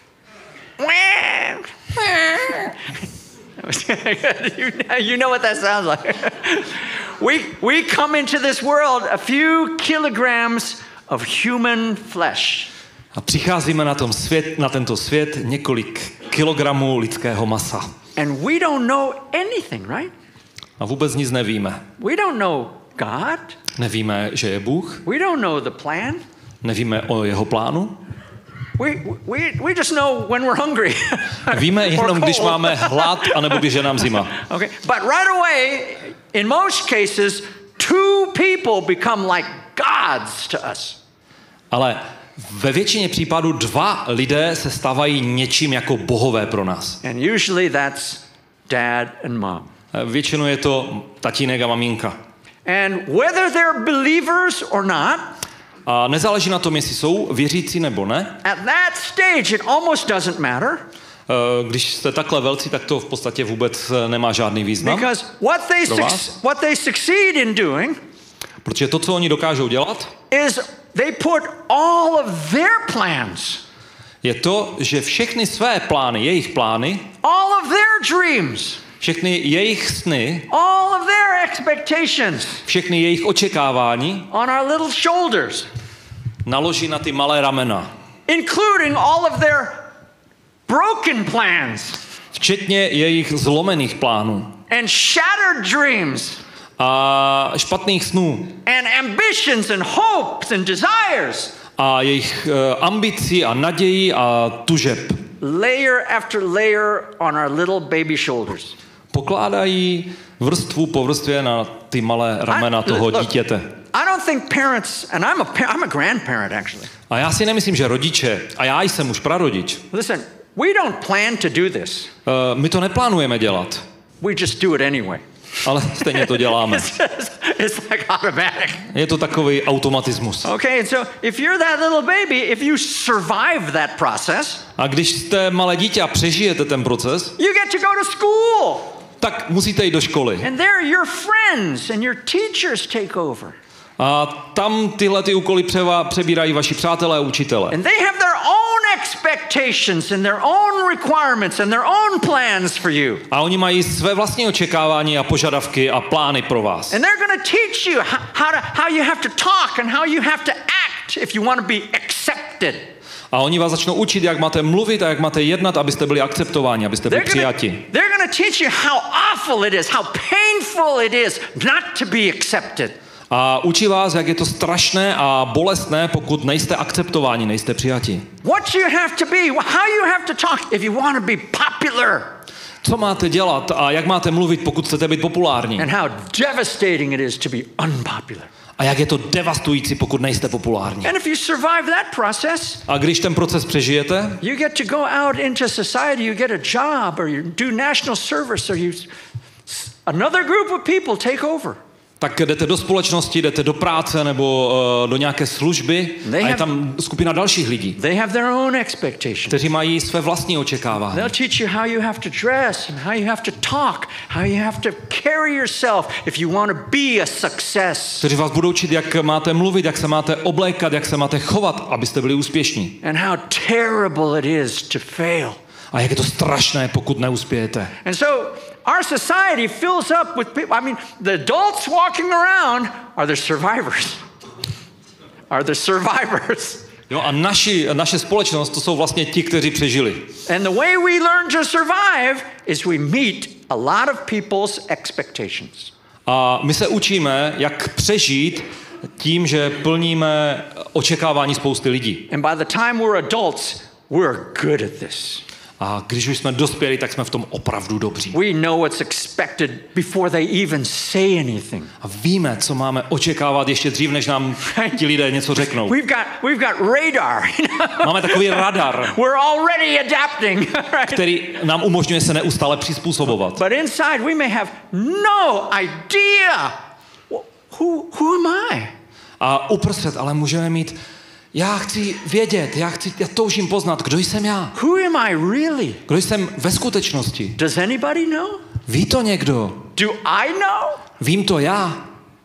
you, you know what that sounds like. we, we come into this world a few kilograms of human flesh. A přicházíme na, tom svět, na tento svět několik kilogramů lidského masa. And we don't know anything, right? A vůbec nic nevíme. We don't know God. Nevíme, že je Bůh. We don't know the plan. Nevíme o jeho plánu. We, we, we just know when we're hungry. Víme Or jenom, když cold. máme hlad, anebo když je nám zima. Okay, but right away, in most cases, two people become like gods to us. Ale ve většině případů dva lidé se stávají něčím jako bohové pro nás. And usually that's dad and mom. Většinou je to tatínek a maminka. And whether they're believers or not, A nezáleží na tom, jestli jsou věřící nebo ne. at that stage it almost doesn't matter. Když jste takhle velcí, tak to v podstatě vůbec nemá žádný význam. Because what they, Pro suc- vás? what they succeed in doing Protože to, co oni dokážou dělat, is they put all of their plans, je to, že všechny své plány, jejich plány, all of their dreams, všechny jejich sny, all of their expectations všechny jejich očekávání on our little shoulders, naloží na ty malé ramena. including all of their broken plans Včetně jejich zlomených plánů and shattered dreams a špatných snů and ambitions and hopes and desires. a jejich uh, ambicí a nadějí a tužeb. Layer after layer on our little baby shoulders. Pokládají vrstvu po vrstvě na ty malé ramena I- toho look, dítěte. I don't think parents, and I'm a, par- I'm a grandparent actually. A já si nemyslím, že rodiče, a já jsem už prarodič, Listen, we don't plan to do this. uh, my to neplánujeme dělat, We just do it anyway. ale stejně to děláme. It's, it's like automatic. Je to takový automatismus. Okay, and so if you're that little baby, if you survive that process, A když jste malé dítě a přežijete ten proces, you get to go to school. tak musíte jít do školy. And there your friends and your teachers take over. A tam tyhle ty úkoly převa, přebírají vaši přátelé a učitelé. And they have their own expectations and their own requirements and their own plans for you. A oni mají své vlastní očekávání a požadavky a plány pro vás. And they're going to teach you how, how, to, how you have to talk and how you have to act if you want to be accepted. A oni vás začnou učit, jak máte mluvit a jak máte jednat, abyste byli akceptováni, abyste byli přijati. They're going to teach you how awful it is, how painful it is not to be accepted. A učí vás, jak je to strašné a bolestné, pokud nejste akceptováni, nejste přijati. What you have to be, how you have to talk if you want to be popular. Co máte dělat a jak máte mluvit, pokud chcete být populární? And how devastating it is to be unpopular. A jak je to devastující, pokud nejste populární? And if you survive that process, A když ten proces přežijete, you get to go out into society, you get a job, or you do national service, or you another group of people take over. tak jdete do společnosti, jdete do práce nebo uh, do nějaké služby a je tam skupina dalších lidí, they have their own expectations. kteří mají své vlastní očekávání. They'll teach you how you have to dress and how you have to talk, how you have to carry yourself if you want to be a success. Kteří vás budou učit, jak máte mluvit, jak se máte oblékat, jak se máte chovat, abyste byli úspěšní. And how terrible it is to fail. A jak je to strašné, pokud neuspějete. And so our society fills up with people. I mean, the adults walking around are the survivors. Are the survivors. Jo, a naši, naše společnost, to jsou vlastně ti, kteří přežili. And the way we learn to survive is we meet a lot of people's expectations. A my se učíme, jak přežít tím, že plníme očekávání spousty lidí. And by the time we're adults, we're good at this. A když už jsme dospěli, tak jsme v tom opravdu dobří. We know what's expected before they even say anything. A víme, co máme očekávat ještě dřív, než nám ti lidé něco řeknou. We've got we've got radar. Máme takový radar, We're already adapting, right? který nám umožňuje se neustále přizpůsobovat. But inside we may have no idea who who am I? A uprostřed ale můžeme mít, já chci vědět, já chci, já toužím poznat, kdo jsem já. Who am I really? Kdo jsem ve skutečnosti? Does anybody know? Ví to někdo? Do I know? Vím to já?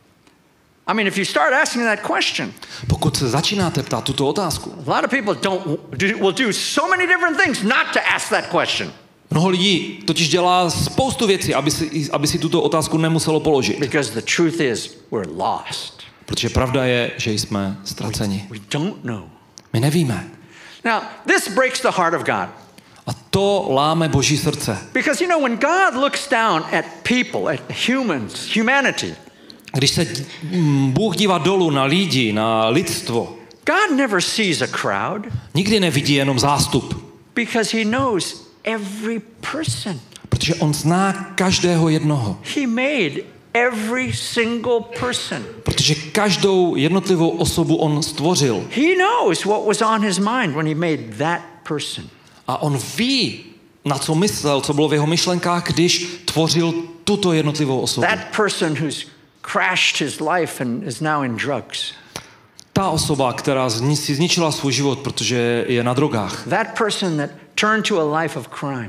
I mean, if you start asking that question, Pokud se začínáte ptát tuto otázku, a lot of people don't do, will do so many different things not to ask that question. Mnoho lidí totiž dělá spoustu věcí, aby si, aby si tuto otázku nemuselo položit. Because the truth is, we're lost. Protože pravda je, že jsme ztraceni. We don't know. My nevíme. Now, this breaks the heart of God. A to láme Boží srdce. Because, you know, when God looks down at people, at humans, humanity, Když se Bůh dívá dolů na lidi, na lidstvo, God never sees a crowd. nikdy nevidí jenom zástup. Because he knows every person. Protože on zná každého jednoho. He made every single person. Protože každou jednotlivou osobu on stvořil. He knows what was on his mind when he made that person. A on ví, na co myslel, co bylo v jeho myšlenkách, když tvořil tuto jednotlivou osobu. That person who's crashed his life and is now in drugs. Ta osoba, která si zničila svůj život, protože je na drogách. That person that turned to a life of crime.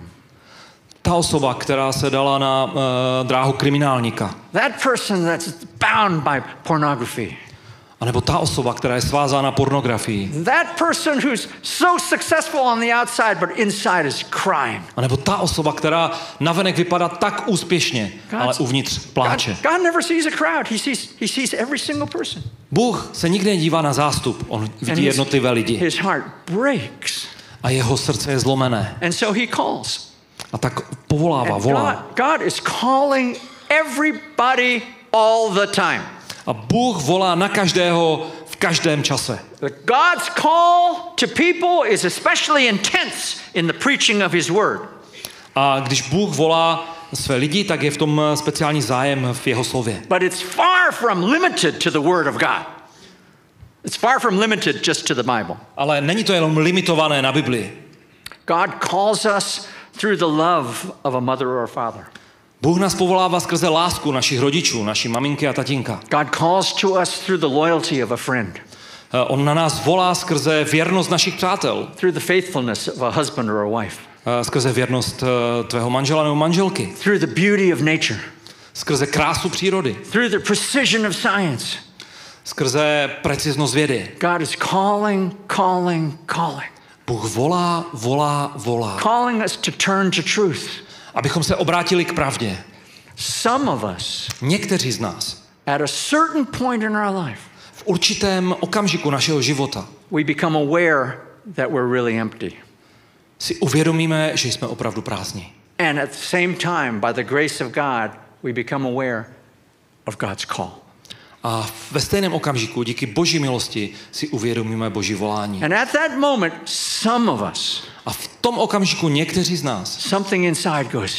Ta osoba, která se dala na uh, dráhu kriminálníka. That person that's bound by pornography. A nebo ta osoba, která je svázána pornografií. That person who's so successful on the outside but inside is crime. A nebo ta osoba, která navenek vypadá tak úspěšně, God's, ale uvnitř pláče. God, God never sees a crowd. He sees, he sees every single person. Bůh se nikdy nedívá na zástup, on vidí jednotlivé lidi. His heart breaks. A jeho srdce je zlomené. And so he calls. A tak povolává, And volá. God, God is calling everybody all the time. A Bůh volá na každého v každém čase. God's call to people is especially intense in the preaching of his word. A když Bůh volá své lidi, tak je v tom speciální zájem v jeho slově. But it's far from limited to the word of God. It's far from limited just to the Bible. Ale není to jenom limitované na Biblii. God calls us through the love of a mother or a father. Bůh nás povolává skrze lásku našich rodičů, naší maminky a tatínka. God calls to us through the loyalty of a friend. On na nás volá skrze věrnost našich přátel. Through the faithfulness of a husband or a wife. Skrze věrnost tvého manžela nebo manželky. Through the beauty of nature. Skrze krásu přírody. Through the precision of science. Skrze preciznost vědy. God is calling, calling, calling. Bůh volá, volá, volá. Calling us to turn to truth. Abychom se obrátili k pravdě. Some of us, někteří z nás, at a certain point in our life, v určitém okamžiku našeho života, we become aware that we're really empty. si uvědomíme, že jsme opravdu prázdní. And at the same time, by the grace of God, we become aware of God's call. A ve stejném okamžiku, díky Boží milosti, si uvědomíme Boží volání. And at that moment, some of us, a v tom okamžiku někteří z nás, something inside goes,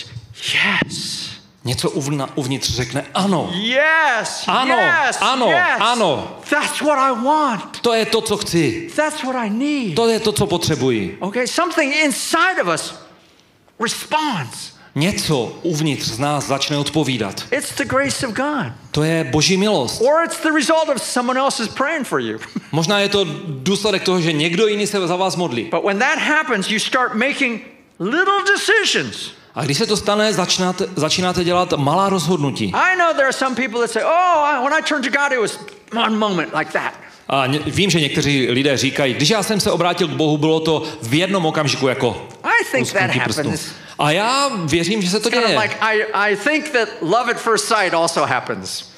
yes. Něco uvnitř řekne ano. Yes, ano, yes, ano, yes. ano. That's what I want. To je to, co chci. That's what I need. To je to, co potřebuji. Okay, something inside of us responds. něco uvnitř z nás začne odpovídat. It's the grace of God. To je Boží milost. Or it's the result of someone else is praying for you. Možná je to důsledek toho, že někdo jiný se za vás modlí. But when that happens, you start making little decisions. A když se to stane, začínáte, začínáte dělat malá rozhodnutí. I know there are some people that say, oh, when I turned to God, it was one moment like that. A ně, vím, že někteří lidé říkají, když já jsem se obrátil k Bohu, bylo to v jednom okamžiku jako I think that lusknutí prstu. happens. A já věřím, že se to Kind of děje. like I, I think that love at first sight also happens.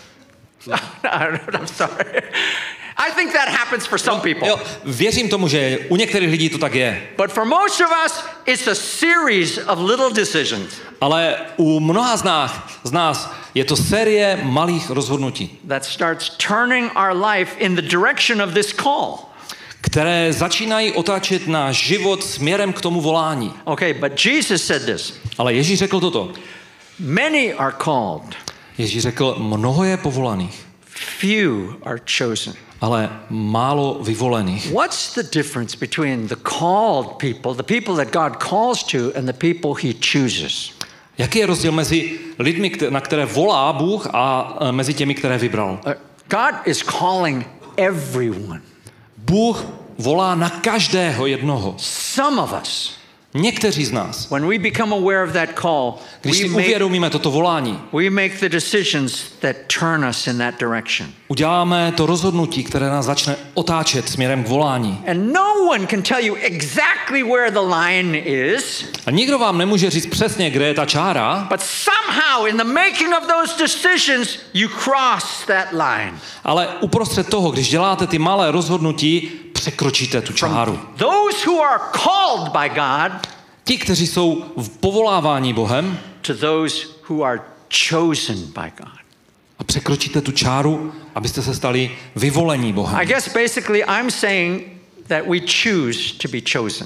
I'm sorry. I think that happens for some people. Jo, věřím tomu, že u některých lidí to tak je. But for most of us, it's a series of little decisions. Ale u mnoha z nás, z nás je to série malých rozhodnutí, That starts turning our life in the direction of this call. které začínají otáčet náš život směrem k tomu volání. Okay, but Jesus said this. Ale Ježíš řekl toto. Many are called, Ježíš řekl, mnoho je povolaných, few are chosen. ale málo vyvolených. What's the difference between the called people, the people that God calls to, and the people he chooses? Jaký je rozdíl mezi lidmi, na které volá Bůh, a mezi těmi, které vybral? Uh, God is calling everyone. Bůh volá na každého jednoho. Some of us, Někteří z nás, when we become aware of that call, když we si make, uvědomíme toto volání, we make the decisions that turn us in that direction. uděláme to rozhodnutí, které nás začne otáčet směrem k volání. And no one can tell you exactly where the line is, A nikdo vám nemůže říct přesně, kde je ta čára, but somehow in the making of those decisions, you cross that line. ale uprostřed toho, když děláte ty malé rozhodnutí, překročíte tu čáru. Those who are called by God Ti, kteří jsou v povolávání Bohem, to those who are chosen by God. a překročíte tu čáru, abyste se stali vyvolení I Bohem. guess basically I'm saying that we choose to be chosen.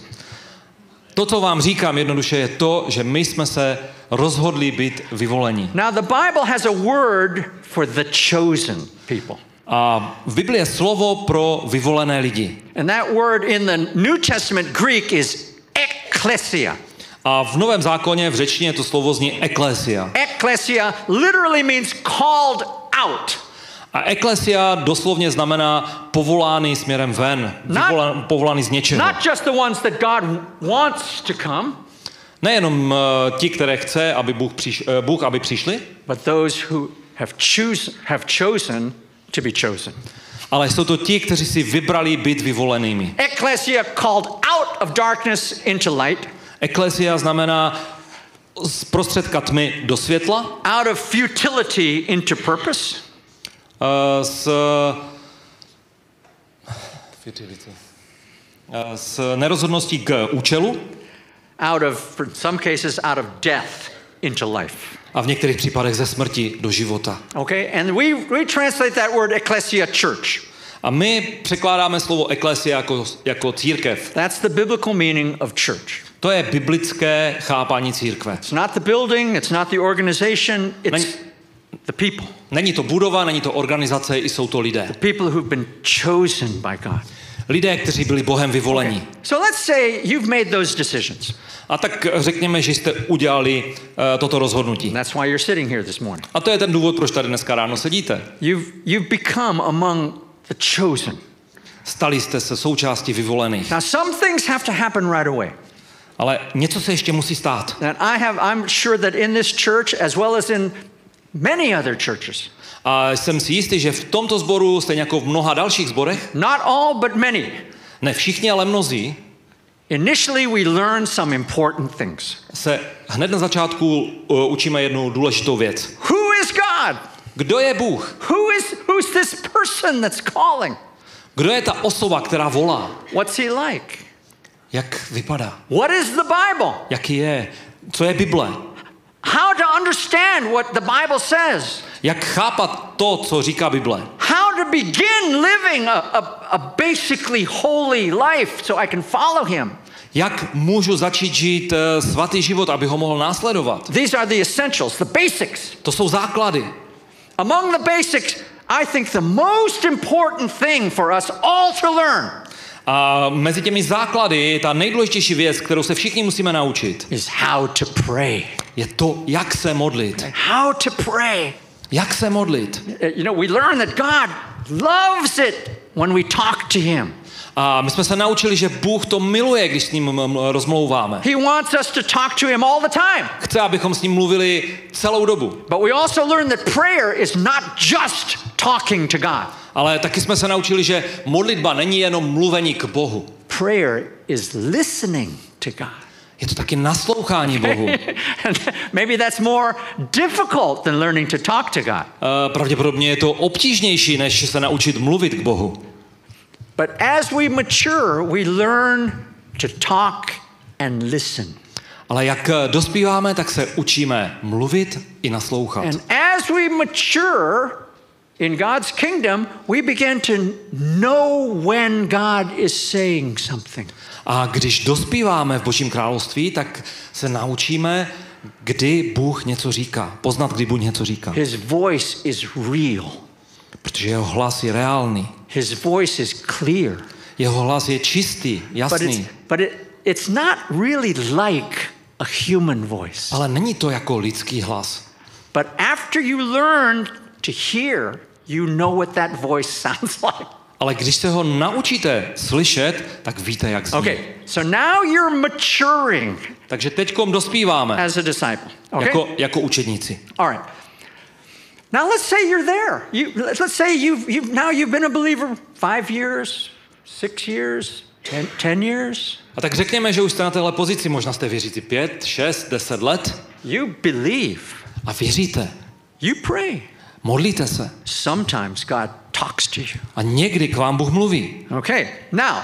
To, co vám říkám jednoduše, je to, že my jsme se rozhodli být vyvolení. Now the Bible has a word for the chosen people. A v Biblii je slovo pro vyvolené lidi. And that word in the New Testament Greek is ekklesia. A v Novém zákoně v řečtině to slovo zní eklesia. Ekklesia literally means called out. A eklesia doslovně znamená povolaný směrem ven, vyvola, povolaný z něčeho. Not just the ones that God wants to come, Nejenom uh, ti, které chce, aby Bůh, přiš, uh, Bůh aby přišli, but those who have, choose, have chosen to be chosen. ale jsou to ti, kteří si vybrali být vyvolenými. Ekklesia called out of darkness into light. Eklesia znamená z prostředka tmy do světla, Out of futility into purpose. uh, z, uh, z nerozhodností k účelu Out of, for some cases, out of death into life. a v některých případech ze smrti do života. Okay, and we, we translate that word ecclesia church. A my překládáme slovo eklesia jako, jako církev. That's the biblical meaning of church. To je biblické chápání církve. It's not the building, it's not the organization, it's Není, the people. není to budova, není to organizace, i jsou to lidé. The people who've been chosen by God. Lidé, kteří byli Bohem vyvolení. Okay. So let's say you've made those decisions. A tak řekněme, že jste udělali uh, toto rozhodnutí. And that's why you're sitting here this morning. A to je ten důvod, proč tady dneska ráno sedíte. You've, you've become among the chosen. Stali jste se součástí vyvolených. Now some things have to happen right away. Ale něco se ještě musí stát. And I have, I'm sure that in this church, as well as in many other churches, A jsem si jistý, že v tomto sboru, stejně jako v mnoha dalších sborech, not all but many, ne všichni, ale mnozí, initially we learn some important things. se hned na začátku uh, učíme jednu důležitou věc. Who is God? Kdo je Bůh? Who is, who's this person that's calling? Kdo je ta osoba, která volá? What's he like? Jak vypadá? What is the Bible? Jaký je? Co je Bible? How to understand what the Bible says? Jak chápat to, co říká Bible? How to begin living a, a, a basically holy life so I can follow him? Jak můžu začít žít uh, svatý život, aby ho mohl následovat? These are the essentials, the basics. To jsou základy. Among the basics, I think the most important thing for us all to learn A mezi těmi základy ta nejdůležitější věc, kterou se všichni musíme naučit, is how to pray. je to, jak se modlit. How to pray. Jak se modlit. You know, we learn that God loves it when we talk to him. A my jsme se naučili, že Bůh to miluje, když s ním rozmlouváme. He wants us to talk to him all the time. Chce, abychom s ním mluvili celou dobu. But we also learn that prayer is not just talking to God. Ale taky jsme se naučili, že modlitba není jenom mluvení k Bohu. Prayer is listening to God. Je to taky naslouchání Bohu. Maybe that's more difficult than learning to talk to God. Uh, pravděpodobně je to obtížnější, než se naučit mluvit k Bohu. But as we mature, we learn to talk and listen. Ale jak dospíváme, tak se učíme mluvit i naslouchat. And as we mature in God's kingdom, we begin to know when God is saying something. A když dospíváme v Božím království, tak se naučíme, kdy Bůh něco říká. Poznat, kdy Bůh něco říká. His voice is real. Protože jeho hlas je reálný. His voice is clear. Jeho hlas je čistý, jasný. But it's, but it, it's not really like a human voice. Ale není to jako lidský hlas. But after you learn to hear, you know what that voice sounds like. Ale když se ho naučíte slyšet, tak víte, jak zní. Okay, so now you're maturing. Takže teďkom dospíváme. As a disciple. Okay? Jako, jako učedníci. All right. Now let's say you're there. You, let's say you've, you've now you've been a believer five years, six years, ten, ten years. A tak řekněme, že už jste na téhle pozici, možná jste věřící pět, šest, deset let. You believe. A věříte. You pray. Modlíte se. Sometimes God talks to you. A někdy k vám Bůh mluví. Okay, now,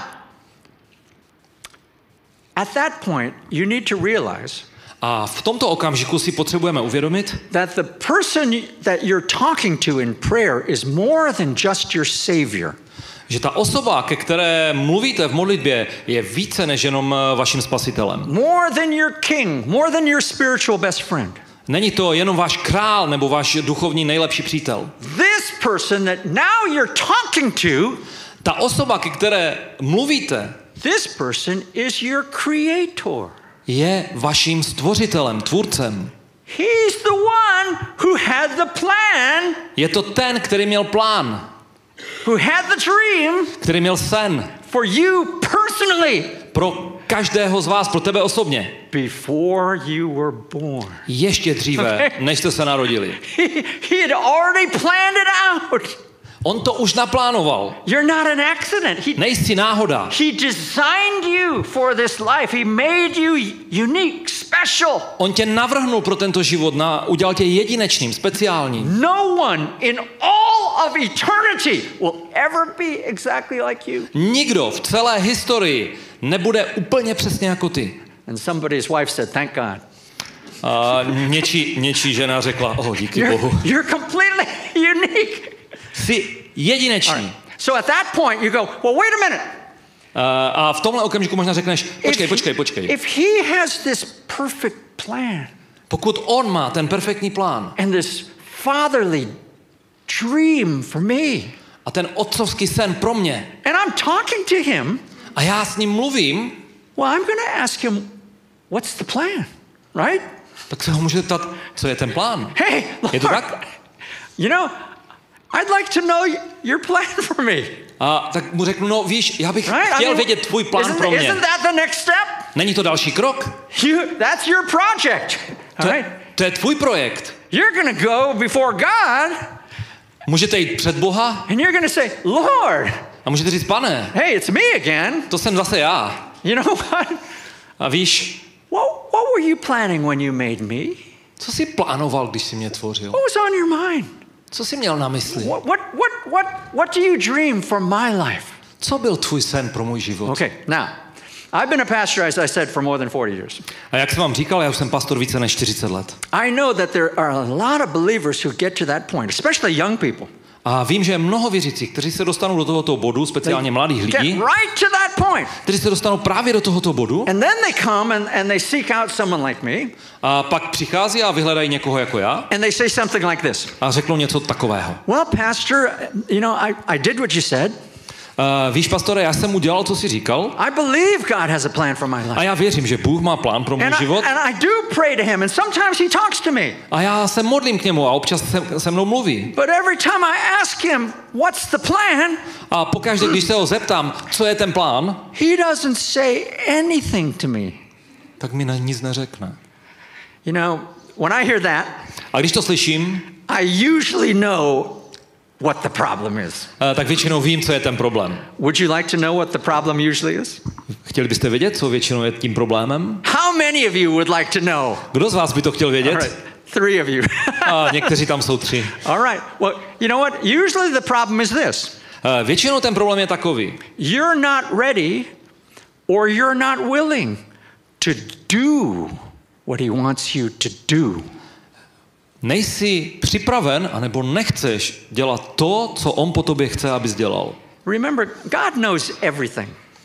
at that point, you need to realize A v tomto okamžiku si potřebujeme uvědomit, that the person that you're talking to in prayer is more than just your savior. že ta osoba, ke které mluvíte v modlitbě, je více než jenom vaším spasitelem. More than your king, more than your spiritual best friend. Není to jenom váš král nebo váš duchovní nejlepší přítel. This person that now you're talking to, ta osoba, ke které mluvíte, this person is your creator. je vaším stvořitelem, tvůrcem. He's the one who had the plan. Je to ten, který měl plán. Who had the dream. Který měl sen. For you personally. Pro každého z vás, pro tebe osobně. Before you were born. Ještě dříve, okay. než jste se narodili. He, he had already planned it out. On to už naplánoval. You're not an accident. He, Nejsi náhoda. He designed you for this life. He made you unique, special. On tě navrhnul pro tento život, na, udělal tě jedinečným, speciálním. No one in all of eternity will ever be exactly like you. Nikdo v celé historii nebude úplně přesně jako ty. And somebody's wife said, "Thank God." A něčí, něčí žena řekla, oh, díky You're, Bohu. you're completely unique. Jsi jedinečný. Right. So at that point you go, well, wait a minute. Uh, a v tomhle okamžiku možná řekneš, počkej, If počkej, he- počkej. If he has this perfect plan Pokud on má ten perfektní plán and this fatherly dream for me, a ten otcovský sen pro mě and I'm talking to him, a já s ním mluvím, well, I'm going to ask him, what's the plan, right? tak se ho můžete ptat, co je ten plán. Hey, Je to Lord, tak? you know, I'd like to know your plan for me, A tak mu řeknu, no víš, já bych right? chtěl vědět tvůj plán isn't, pro mě. isn't that the next step? Není to další krok? You, that's your project, To, all right? to je tvůj projekt. You're going to go before God, Můžete jít před Boha and you're going to say, Lord, a můžete říct, pane, hey, it's me again. to jsem zase já. You know what? A víš, What, what were you planning when you made me? co jsi plánoval, když jsi mě tvořil? What was on your mind? Co jsi měl na mysli? What, what, what, what, what do you dream for my life? Co byl tvůj sen pro můj život? Okay, now, I've been a pastor, as I said, for more than forty years. A jak jsem vám říkal, já už jsem pastor více než čtyřicet let. I know that there are a lot of believers who get to that point, especially young people. A vím, že je mnoho věřících, kteří se dostanou do tohoto bodu, speciálně mladých Get lidí, right to that point. kteří se dostanou právě do tohoto bodu And then they come and, and they seek out someone like me, a pak přichází a vyhledají někoho jako já and they say something like this. a řeknou něco takového. Well, pastor, you know, I, I did what you said. Uh, víš, pastore, já jsem udělal, co jsi říkal. I believe God has a plan for my life. A já věřím, že Bůh má plán pro můj And I, život. and I do pray to him, and sometimes he talks to me. A já se modlím k němu a občas se, se mnou mluví. But every time I ask him, what's the plan? A pokaždé, když se ho zeptám, co je ten plán, He doesn't say anything to me. tak mi na nic neřekne. You know, when I hear that, A když to slyším, I usually know what the problem is. uh, tak většinou vím, co je ten problém. Would you like to know what the problem usually is? Chtěli byste vědět, co většinou je tím problémem? How many of you would like to know? Kdo z vás by to chtěl vědět? All right, three of you. A někteří tam jsou tři. All right. Well, you know what? Usually the problem is this. Uh, většinou ten problém je takový. You're not ready or you're not willing to do what he wants you to do. Nejsi připraven, anebo nechceš dělat to, co on po tobě chce, abys dělal. Remember, God knows everything.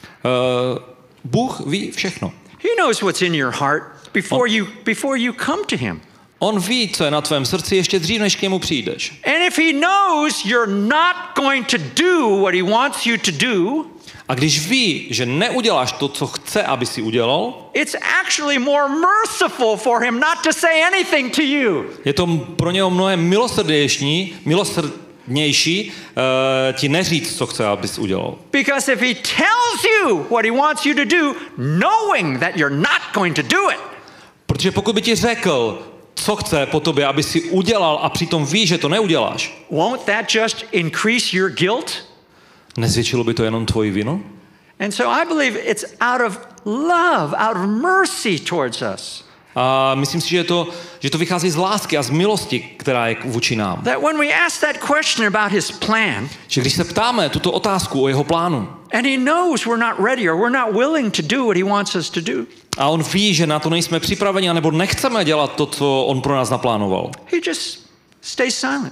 Uh, Bůh ví všechno. He knows what's in your heart before you before you come to him. On ví, co je na tvém srdci ještě dřív, než k němu přijdeš. And if he knows you're not going to do what he wants you to do, A když ví, že neuděláš to, co chce, aby si udělal, it's actually more merciful for him not to say anything to you. je to pro něho mnohem milosrdnější, milosrdnější uh, ti neříct, co chce, abys udělal. Because if he tells you what he wants you to do, knowing that you're not going to do it, Protože pokud by ti řekl, co chce po tobě, aby si udělal a přitom ví, že to neuděláš, won't that just increase your guilt? nezvětšilo by to jenom tvoji vinu? And so I believe it's out of love, out of mercy towards us. A myslím si, že to, že to vychází z lásky a z milosti, která je vůči nám. That when we ask that question about his plan, Že když se ptáme tuto otázku o jeho plánu, and he knows we're not ready or we're not willing to do what he wants us to do, a on ví, že na to nejsme připraveni, anebo nechceme dělat to, co on pro nás naplánoval, he just stays silent.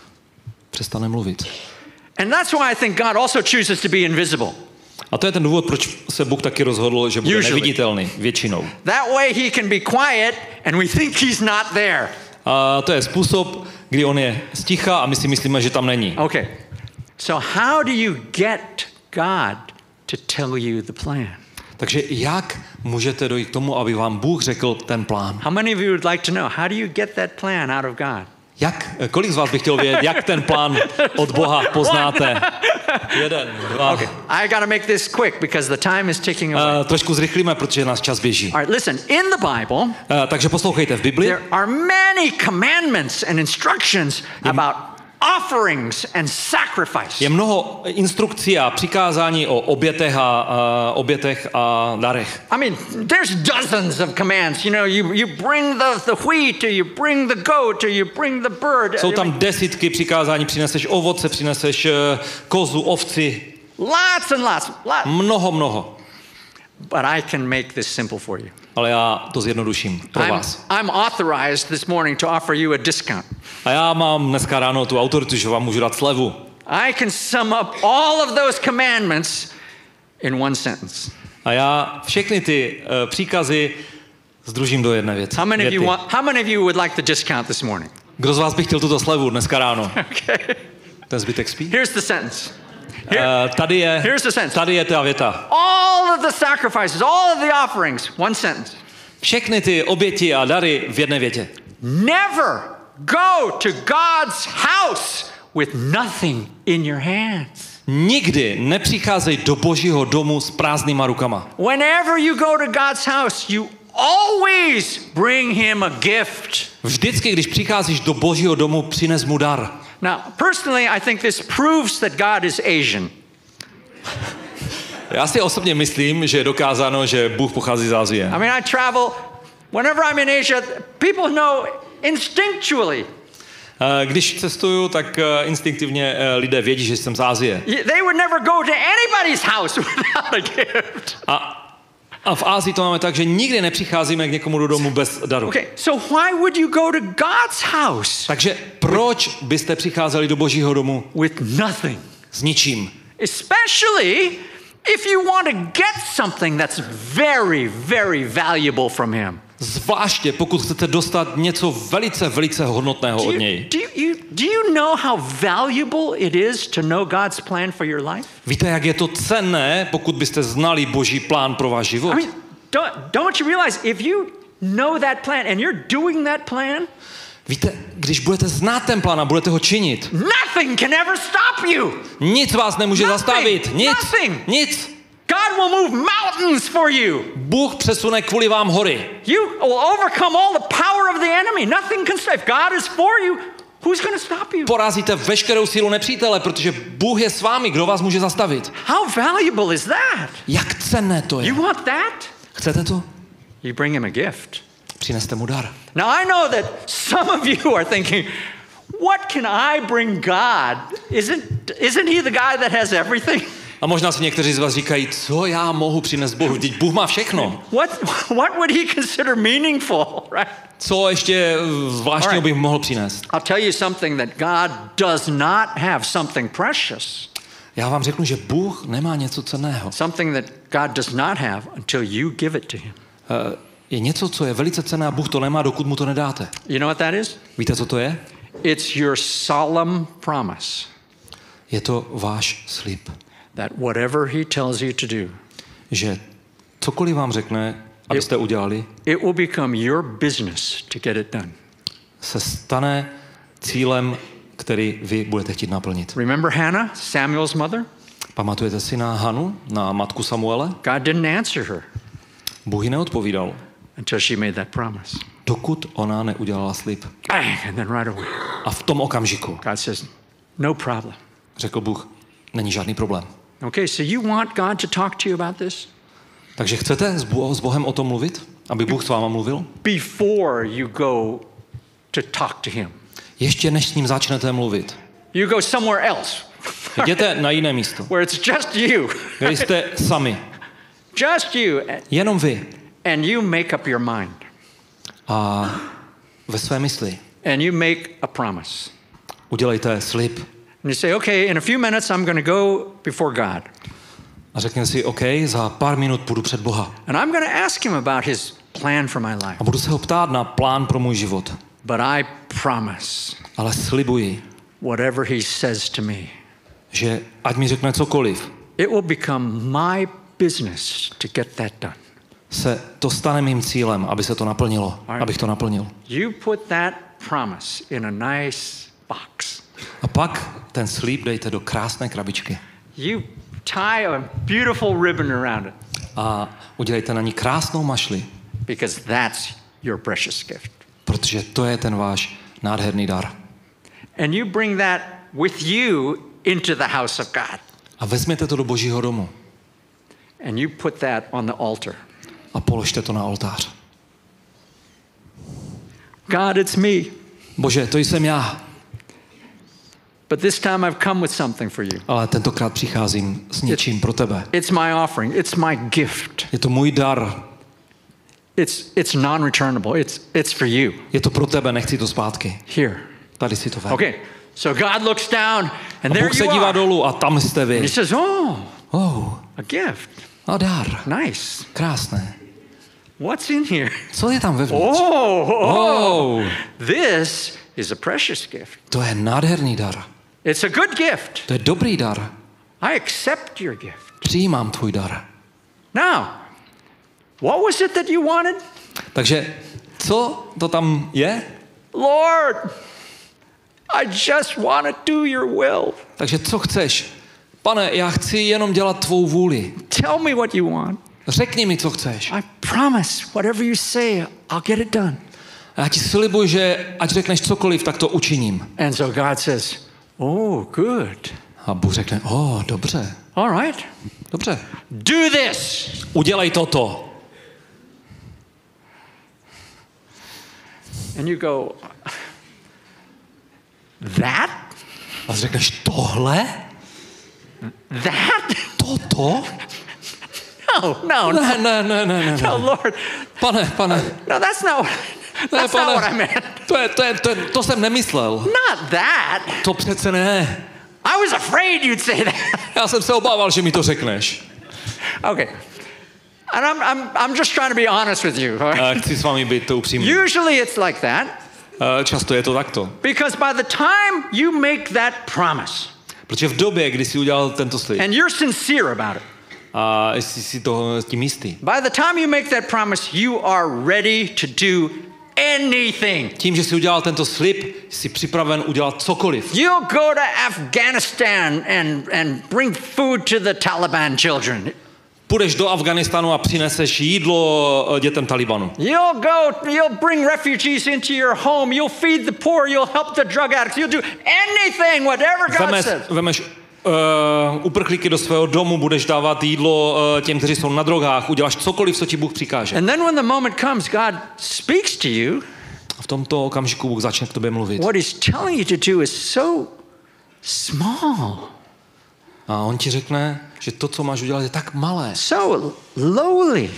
přestane mluvit. And that's why I think God also chooses to be invisible. A to je ten důvod, proč se Bůh taky rozhodl, že bude Usually. neviditelný většinou. That way he can be quiet and we think he's not there. A to je způsob, kdy on je sticha a my si myslíme, že tam není. Okay. So how do you get God to tell you the plan? Takže jak můžete dojít k tomu, aby vám Bůh řekl ten plán? How many of you would like to know? How do you get that plan out of God? Jak, kolik z vás by chtěl vědět, jak ten plán od Boha poznáte? Jeden, dva. Okay. I got to make this quick because the time is ticking away. Uh, trošku zrychlíme, protože nás čas běží. All right, listen, in the Bible, Uh, takže poslouchejte v Bibli. there are many commandments and instructions about offerings and sacrifice. Je mnoho instrukcí a přikázání o obětech a, uh, obětech a darech. I mean, there's dozens of commands. You know, you, you bring the, the wheat, or you bring the goat, or you bring the bird. Jsou tam desítky přikázání, přineseš ovoce, přineseš uh, kozu, ovci. Lots and lots. lots. Mnoho, mnoho. But I can make this simple for you. Ale já to zjednoduším pro I'm, vás. I'm authorized this morning to offer you a discount. A já mám dneska ráno tu autoritu, že vám můžu dát slevu. I can sum up all of those commandments in one sentence. A já všechny ty uh, příkazy združím do jedné věci. How many of you věty. want, how many of you would like the discount this morning? Kdo z vás by chtěl tuto slevu dneska ráno? Okay. Ten zbytek spí? Here's the sentence. Here, Uh, tady je, here's the sentence. tady je ta věta. All of the sacrifices, all of the offerings, one sentence. Všechny ty oběti a dary v jedné větě. Never go to God's house with nothing in your hands. Nikdy nepřicházej do Božího domu s prázdnýma rukama. Whenever you go to God's house, you always bring him a gift. Vždycky, když přicházíš do Božího domu, přines mu dar. Now, personally, I think this proves that God is Asian. Já si osobně myslím, že je dokázáno, že Bůh pochází z Asie. I mean, I travel, whenever I'm in Asia, people know instinctually. Eh, Když cestuju, tak eh, instinktivně eh, lidé vědí, že jsem z Asie. They would never go to anybody's house without a gift. A, a v Asii to máme tak, že nikdy nepřicházíme k někomu do domu bez daru. Okay, so why would you go to God's house Takže proč byste přicházeli do Božího domu with nothing? s ničím? Especially if you want to get something that's very, very valuable from him. Zvláště pokud chcete dostat něco velice, velice hodnotného Do od you, něj. do, you, do you know how valuable it is to know God's plan for your life? Víte, jak je to cenné, pokud byste znali Boží plán pro váš život? I mean, don't, don't you realize if you know that plan and you're doing that plan, Víte, když budete znát ten plán a budete ho činit, nothing can ever stop you. nic vás nemůže Nothing, zastavit. Nic. nothing. Nic. God will move mountains for you. Bůh přesune kvůli vám hory. You will overcome all the power of the enemy. Nothing can stop. If God is for you, who's going to stop you? Porazíte veškerou sílu nepřítele, protože Bůh je s vámi. Kdo vás může zastavit? How valuable is that? Jak cenné to je. You want that? Chcete to? You bring him a gift. Přineste mu dar. Now I know that some of you are thinking, what can I bring God? Isn't, isn't he the guy that has everything? A možná si někteří z vás říkají, co já mohu přinést Bohu? Vždyť Bůh má všechno. What, what would he consider meaningful, right? Co ještě zvláštního bych mohl přinést? I'll tell you something that God does not have, something precious. Já vám řeknu, že Bůh nemá něco cenného. Something that God does not have until you give it to him. Uh, je něco, co je velice cenné a Bůh to nemá, dokud mu to nedáte. You know what that is? Víte, co to je? It's your solemn promise Je to váš slib. that whatever he tells you to do, Že cokoliv vám řekne, abyste udělali, it will become your business to get it done. se stane cílem, který vy budete chtít naplnit. Remember Hannah, Samuel's mother? Pamatujete si na Hanu, na matku Samuele? God didn't answer her Bůh jí neodpovídal, until she made that promise. dokud ona neudělala slib. Bang, and then right away, A v tom okamžiku God says, no problem. řekl Bůh, není žádný problém. Okay, so you want God to talk to you about this? Takže chcete s Bo- s Bohem o tom mluvit? Aby Bůh s váma mluvil? Before you go to talk to him. Ještě než s ním začnete mluvit. You go somewhere else. Jděte na jiné místo, Where it's just you. kde jste sami. Just you. Jenom vy. And you make up your mind. A ve své mysli And you make a promise. udělejte slib. And you say, okay, in a few minutes I'm going to go before God. A řekněte si, OK, za pár minut půjdu před Boha. And I'm going to ask him about his plan for my life. A budu se ho ptát na plán pro můj život. But I promise, Ale slibuji, whatever he says to me, že ať mi řekne cokoliv, it will become my business to get that done. se to stane mým cílem, aby se to naplnilo, abych to naplnil. You put that promise in a nice box. A pak ten slib dejte do krásné krabičky. You tie a beautiful ribbon around it A udělejte na ní krásnou mašli, because that's your precious gift. protože to je ten váš nádherný dar. And you bring that with you into the house of God. A vezměte to do Božího domu And you put that on the altar. a položte to na oltář. God, it's me. Bože, to jsem já, But this time I've come with something for you. ale tentokrát přicházím s něčím pro tebe. It's my offering. It's my gift. Je to můj dar, It's, it's non-returnable. It's, it's for you. je to pro tebe, nechci to zpátky. Here. Tady si to vem. Okay. So God looks down and A there Bůh se you dívá are. dolů a tam jste And he vy. says, oh, Oh, a gift. a dar. Nice. Krásné. What's in here? Co je tam vevnitř? Oh, oh. Oh, This is a precious gift. to je nádherný dar. It's a good gift. To je dobrý dar. I accept your gift. Přijímám tvůj dar. Now, what was it that you wanted? Takže co to tam je? Lord, I just want to do your will. Takže co chceš? Pane, já chci jenom dělat tvou vůli. Tell me what you want. Řekni mi, co chceš. I promise, whatever you say, I'll get it done. A já ti slibuji, že ať řekneš cokoliv, tak to učiním. And so God says, oh, good. A Bůh řekne, o, oh, dobře, All right. dobře. Do this. Udělej toto. And you go, that? A řekneš, tohle? That? Toto? No, no, no. Ne, ne, ne, ne, ne. No, Lord. Pane, pane, No, that's not, that's not what I meant. to, je, to, je, to, je, to jsem nemyslel. Not that. To přece ne. I was afraid you'd say that. Já jsem se obával, že mi to řekneš. Okay. And I'm, I'm, I'm just trying to be honest with you. Uh, chci s vámi být to upřímný. Usually it's like that. Uh, často je to takto. Because by the time you make that promise, Protože v době, kdy jsi udělal tento slib and you're sincere about it, a jsi si toho tím jistý, by the time you make that promise, you are ready to do anything. tím, že jsi udělal tento slib, jsi připraven udělat cokoliv. You'll go to Afghanistan and, and bring food to the Taliban children. Půjdeš do Afghánistánu a přineseš jídlo dětem Talibanu. You'll go, you'll bring refugees into your home. You'll feed the poor. You'll help the drug addicts. You'll do anything, whatever God Vemeš, says. vemeš uh, uprchlíky do svého domu, budeš dávat jídlo uh, těm, kteří jsou na drogách, uděláš cokoliv, co ti Bůh přikáže. And then when the moment comes, God speaks to you. A v tomto okamžiku Bůh začne k tobě mluvit. What he's telling you to do is so small. A on ti řekne, že to, co máš udělat, je tak malé, So lowly,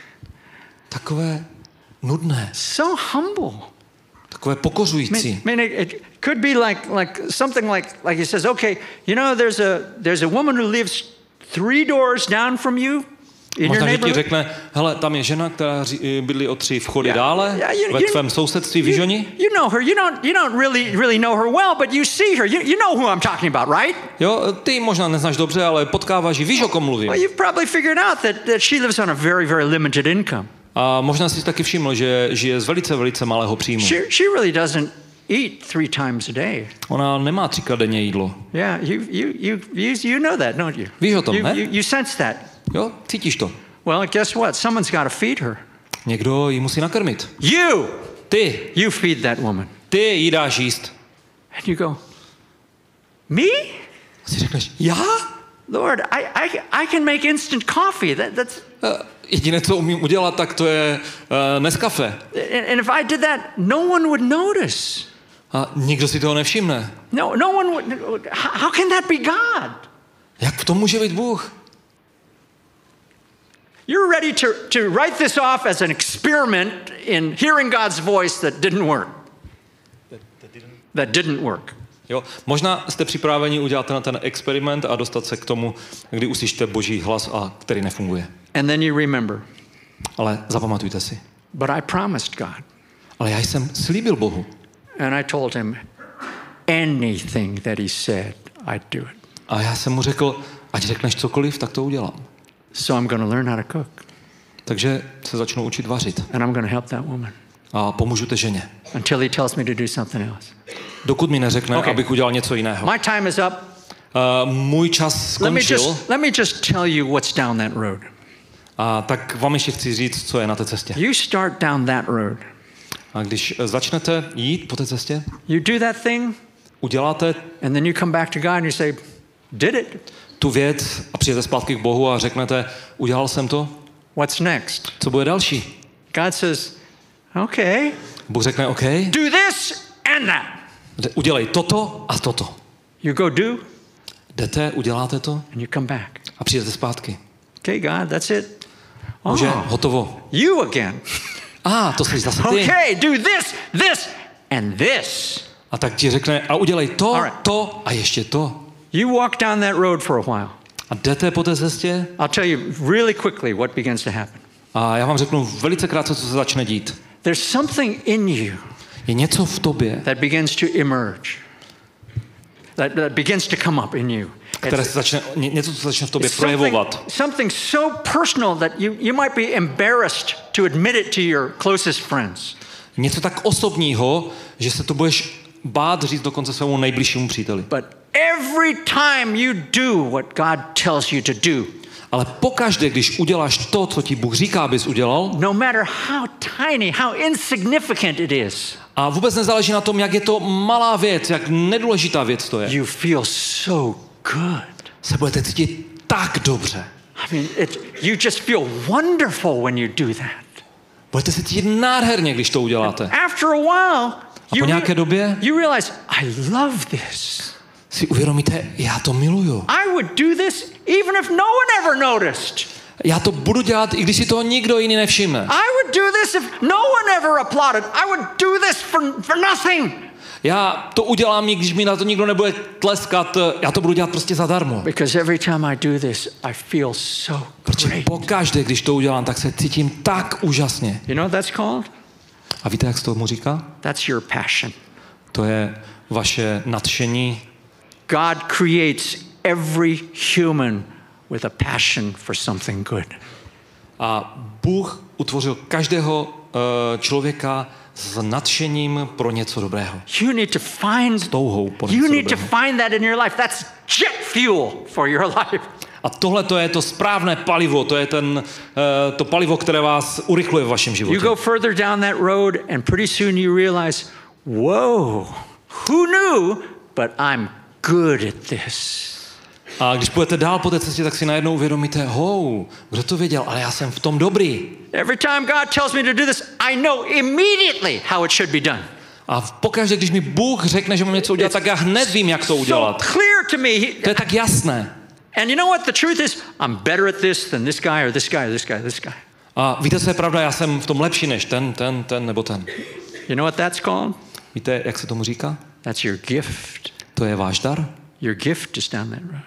takové nudné, so humble. takové I mean, pokořující. I mean, it, it could be like, like something like, like he says, okay, you know, there's a, there's a woman who lives three doors down from you in your Možná, že ti neighborhood. řekne, hele, tam je žena, která ří- bydlí o tři vchody Yeah, dále, yeah, you- ve you- tvém sousedství, víš o ní? You know her. You don't, you don't really, really know her well, but you see her. You, you know who I'm talking about, right? Jo, ty ji možná neznáš dobře, ale potkáváš ji, víš, o kom mluvím. Well, you've probably figured out that, that she lives on a very, very limited income. A možná jsi taky všiml, že žije z velice, velice malého příjmu. She, she really doesn't eat three times a day. Ona nemá třikrát denně jídlo. Yeah, you, you, you, you, you know that, don't you? Víš o tom, you, ne? you, you sense that. Jo, cítíš to. Well, guess what? Someone's got to feed her. Někdo ji musí nakrmit. You, Ty, you feed that woman. ty jí dáš jíst. And you go, me? A si řekneš, já? Lord, I, I, I can make instant coffee. That, that's, Uh, jediné, co umím udělat, tak to je uh, Nescafé. and, and if I did that, no one would notice. A nikdo si toho nevšimne. No, no one would. How, how can that be God? Jak v tom může být Bůh? You're ready to, to write this off as an experiment in hearing God's voice that didn't work. That, that, didn't... that didn't work. Jo, možná jste připraveni udělat na ten experiment a dostat se k tomu, kdy uslyšíte Boží hlas, a který nefunguje. And then you remember, Ale zapamatujte si. but I promised God. Ale já jsem slíbil Bohu. And I told him, anything that he said, I'd do it. A já jsem mu řekl, ať řekneš cokoliv, tak to udělám. So I'm going to learn how to cook. Takže se začnu učit vařit. And I'm going to help that woman A pomůžu té ženě. until he tells me to do something else. Dokud mi neřekne, Okay. abych udělal něco jiného. My time is up. Uh, můj čas Let me skončil. just, let me just tell you what's down that road. A tak vám ještě chci říct, co je na té cestě. You start down that road. A když začnete jít po té cestě, You do that thing, uděláte and then you come back to God and you say, did it. tu věc a přijdete zpátky k Bohu a řeknete, udělal jsem to, What's next? co bude další? God says, okay, Bůh řekne, OK, do this and that. udělej toto a toto. You go do, Jdete, uděláte to and you come back. a přijdete zpátky. Okay, God, that's it. Bože, Oh, hotovo. you again. A, to jsi zase ty. Okay, do this, this, and this. A tak ti řekne, a udělej to, Alright. to a ještě to. You walk down that road for a while. A jdete po té cestě I'll tell you really quickly what begins to happen. a já vám řeknu velice krátce, co se začne dít. There's something in you Je něco v tobě, that begins to emerge, that, that begins to come up in you. které It's, se začne, ně- něco, co se začne v tobě it's something, projevovat. something so personal that you, you might be embarrassed to admit it to your closest friends. Něco tak osobního, že se to budeš bát říct dokonce svému nejbližšímu příteli. But every time you do what God tells you to do, Ale pokaždé, když uděláš to, co ti Bůh říká, abys udělal, no matter how tiny, how insignificant it is, a vůbec nezáleží na tom, jak je to malá věc, jak nedůležitá věc to je, you feel so good. se budete cítit tak dobře. I mean, it, you just feel wonderful when you do that. Budete se cítit nádherně, když to uděláte. After a while, A you, po nějaké době you realize, I love this. si uvědomíte, já to miluju. I would do this even if no one ever noticed. Já to budu dělat, i když si toho nikdo jiný nevšimne. I would do this if no one ever applauded. I would do this for, for nothing. Já to udělám, i když mi na to nikdo nebude tleskat, já to budu dělat prostě zadarmo. Because every time I do this, I feel so Protože great. pokaždé, když to udělám, tak se cítím tak úžasně. You know what that's called? A víte, jak se tomu říká? That's your passion. To je vaše nadšení. God creates every human with a passion for something good. A Bůh utvořil každého uh, člověka s nadšením pro něco dobrého. You need to find S touhou po You něco need to dobrého. find that in your life. That's jet fuel for your life. A tohle to je to správné palivo, to je ten, uh, to palivo, které vás urychluje v vašem You životě. go further down that road and pretty soon you realize, whoa, who knew, but I'm good at this. A když půjdete dál po té cestě, tak si najednou uvědomíte, hou, kdo to věděl, ale já jsem v tom dobrý. Every time God tells me to do this, I know immediately how it should be done. A pokaždé, když mi Bůh řekne, že mám něco udělat, tak já hned vím, jak to So udělat. clear to me. He- To je tak jasné. And you know what the truth is? I'm better at this than this guy or this guy or this guy or this guy. A víte, co je pravda? Já jsem v tom lepší než ten, ten, ten nebo ten. You know what that's called? Víte, jak se tomu říká? That's your gift. To je váš dar. Your gift is down that road.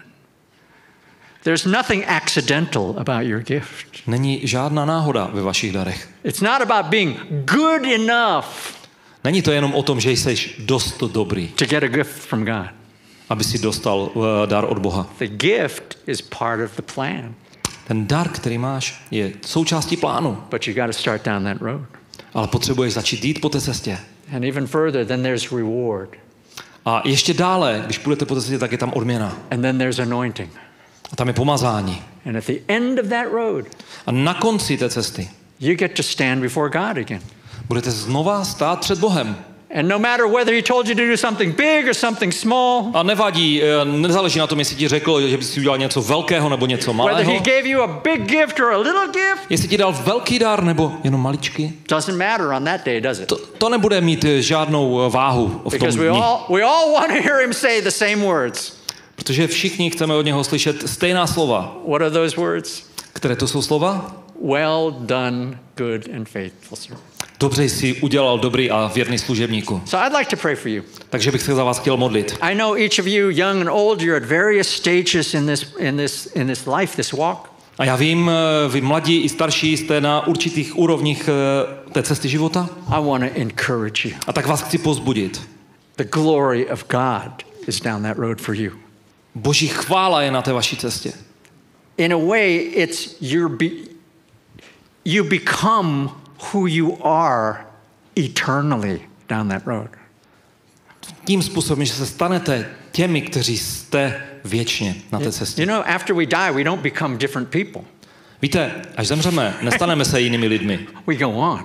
There's nothing accidental about your gift. Není žádná náhoda ve vašich darech. It's not about being good enough Není to jenom o tom, že jsi dost dobrý, to get a gift from God. aby si dostal uh, dar od Boha. The gift is part of the plan, Ten dar, který máš, je součástí plánu, but you got to start down that road. ale potřebuješ začít jít po té cestě. And even further, then there's reward. A ještě dále, když půjdete po té cestě, tak je tam odměna. And then there's anointing. A tam je pomazání. And at the end of that road, A na konci té cesty you get to stand before God again. budete znova stát před Bohem. And no matter whether he told you to do something big or something small, A nevadí, eh, nezáleží na tom, jestli ti řekl, že bys si udělal něco velkého nebo něco whether malého. he gave you a big gift or a little gift, Jestli ti dal velký dar nebo jenom maličký, doesn't matter on that day, does it? to, to nebude mít eh, žádnou eh, váhu v tom Because we dni. all, we all want to hear him say the same words. Protože všichni chceme od něho slyšet stejná slova. What are those words? Které to jsou slova? Well done, good and faithful servant. Dobře jsi udělal, dobrý a věrný služebníku. So I'd like to pray for you. Takže bych se za vás chtěl modlit. I know each of you, young and old, you're at various stages in this, in this, in this life, this walk. A já vím, eh, vy mladí i starší jste na určitých úrovních eh, té cesty života. I want to encourage you. A tak vás chci povzbudit. The glory of God is down that road for you. Boží chvála je na té vaší cestě. In a way, it's your be, you become who you are eternally down that road. Tím způsobem, že se stanete těmi, kteří jste věčně na té cestě. You know, after we die, we don't become different people. Víte, až zemřeme, nestaneme se jinými lidmi. We go on.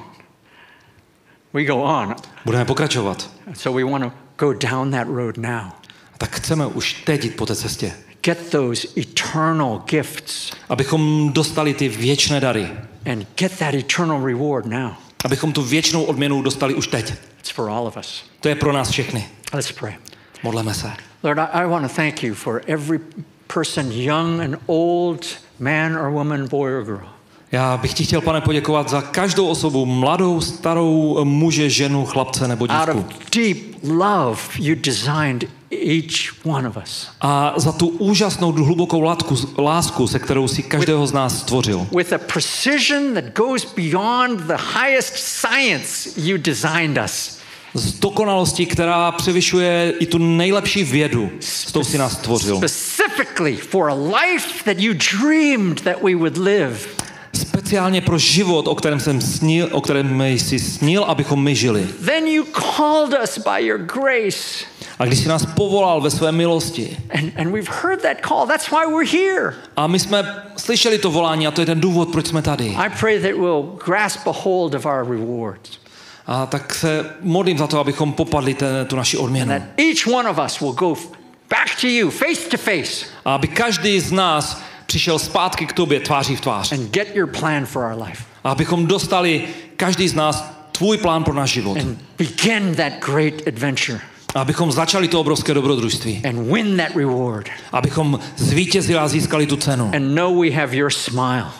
We go on. Budeme pokračovat. So we want to go down that road now. A tak chceme už teď jít po té cestě. Get those eternal gifts Abychom dostali ty věčné dary. and get that eternal reward now. Abychom tu věčnou odměnu dostali už teď. It's for all of us. To je pro nás všechny. Let's pray. Modleme se. Lord, I, I want to thank you for every person, young and old, man or woman, boy or girl. Já bych ti chtěl, Pane, poděkovat za každou osobu, mladou, starou, muže, ženu, chlapce nebo Out dívku. of deep love, you designed each one of us. A za tu úžasnou, hlubokou látku, lásku, se kterou si každého z nás stvořil. With a precision that goes beyond the highest science, you designed us. Z dokonalosti, která převyšuje i tu nejlepší vědu, s tou si nás stvořil. Specifically for a life that you dreamed that we would live. Speciálně pro život, o kterém jsem snil, o kterém jsi snil, abychom my žili. Then you called us by your grace. A když jsi nás povolal ve své milosti. And, and we've heard that call. That's why we're here. A my jsme slyšeli to volání a to je ten důvod, proč jsme tady. I pray that we'll grasp a hold of our rewards. A tak se modlím za to, abychom popadli ten, tu naši odměnu. That each one of us will go back to you face to face. A aby každý z nás přišel zpátky k tobě tváří v tvář. And get your plan for our life. A abychom dostali každý z nás tvůj plán pro náš život. And begin that great adventure. A abychom začali to obrovské dobrodružství. And win that reward. Abychom zvítězili a získali tu cenu. And know we have your smile.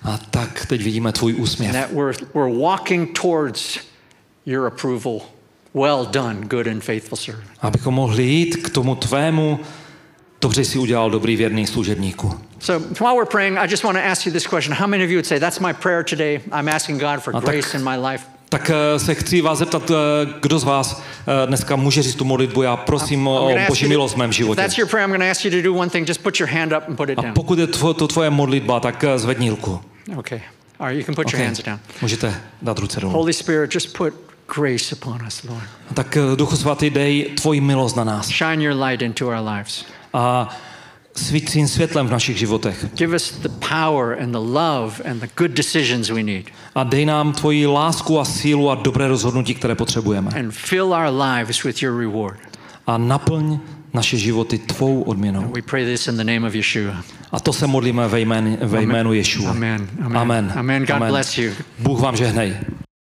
A tak teď vidíme tvůj úsměv. That we're, we're walking towards your approval. Well done, good and faithful servant. Abychom mohli jít k tomu tvému, dobře jsi udělal, dobrý věrný služebníku. So while we're praying, I just want to ask you this question. How many of you would say, that's my prayer today. I'm asking God for grace in my life. Tak se chci vás zeptat, kdo z vás dneska může říct tu modlitbu, já prosím o Boží milost v mém životě. That's your prayer. I'm going to ask you to do one thing. Just put your hand up and put it down. A pokud je to, to tvoje modlitba, tak zvedni ruku. Okay. All right, you can put okay. your hands down. Můžete dát ruce dolů. Holy Spirit, just put grace upon us, Lord. Tak Duchu svatý, dej tvoji milost na nás. Shine your light into our lives. A svít svým světlem v našich životech. Give us the power and the love and the good decisions we need. A dej nám tvoji lásku a sílu a dobré rozhodnutí, které potřebujeme. And fill our lives with your reward. A naplň naše životy tvou odměnou. And we pray this in the name of Yeshua. A to se modlíme ve jménu, ve jménu Ješua. Amen. Amen. Amen. Amen. God Amen. bless you. Bůh vám žehnej.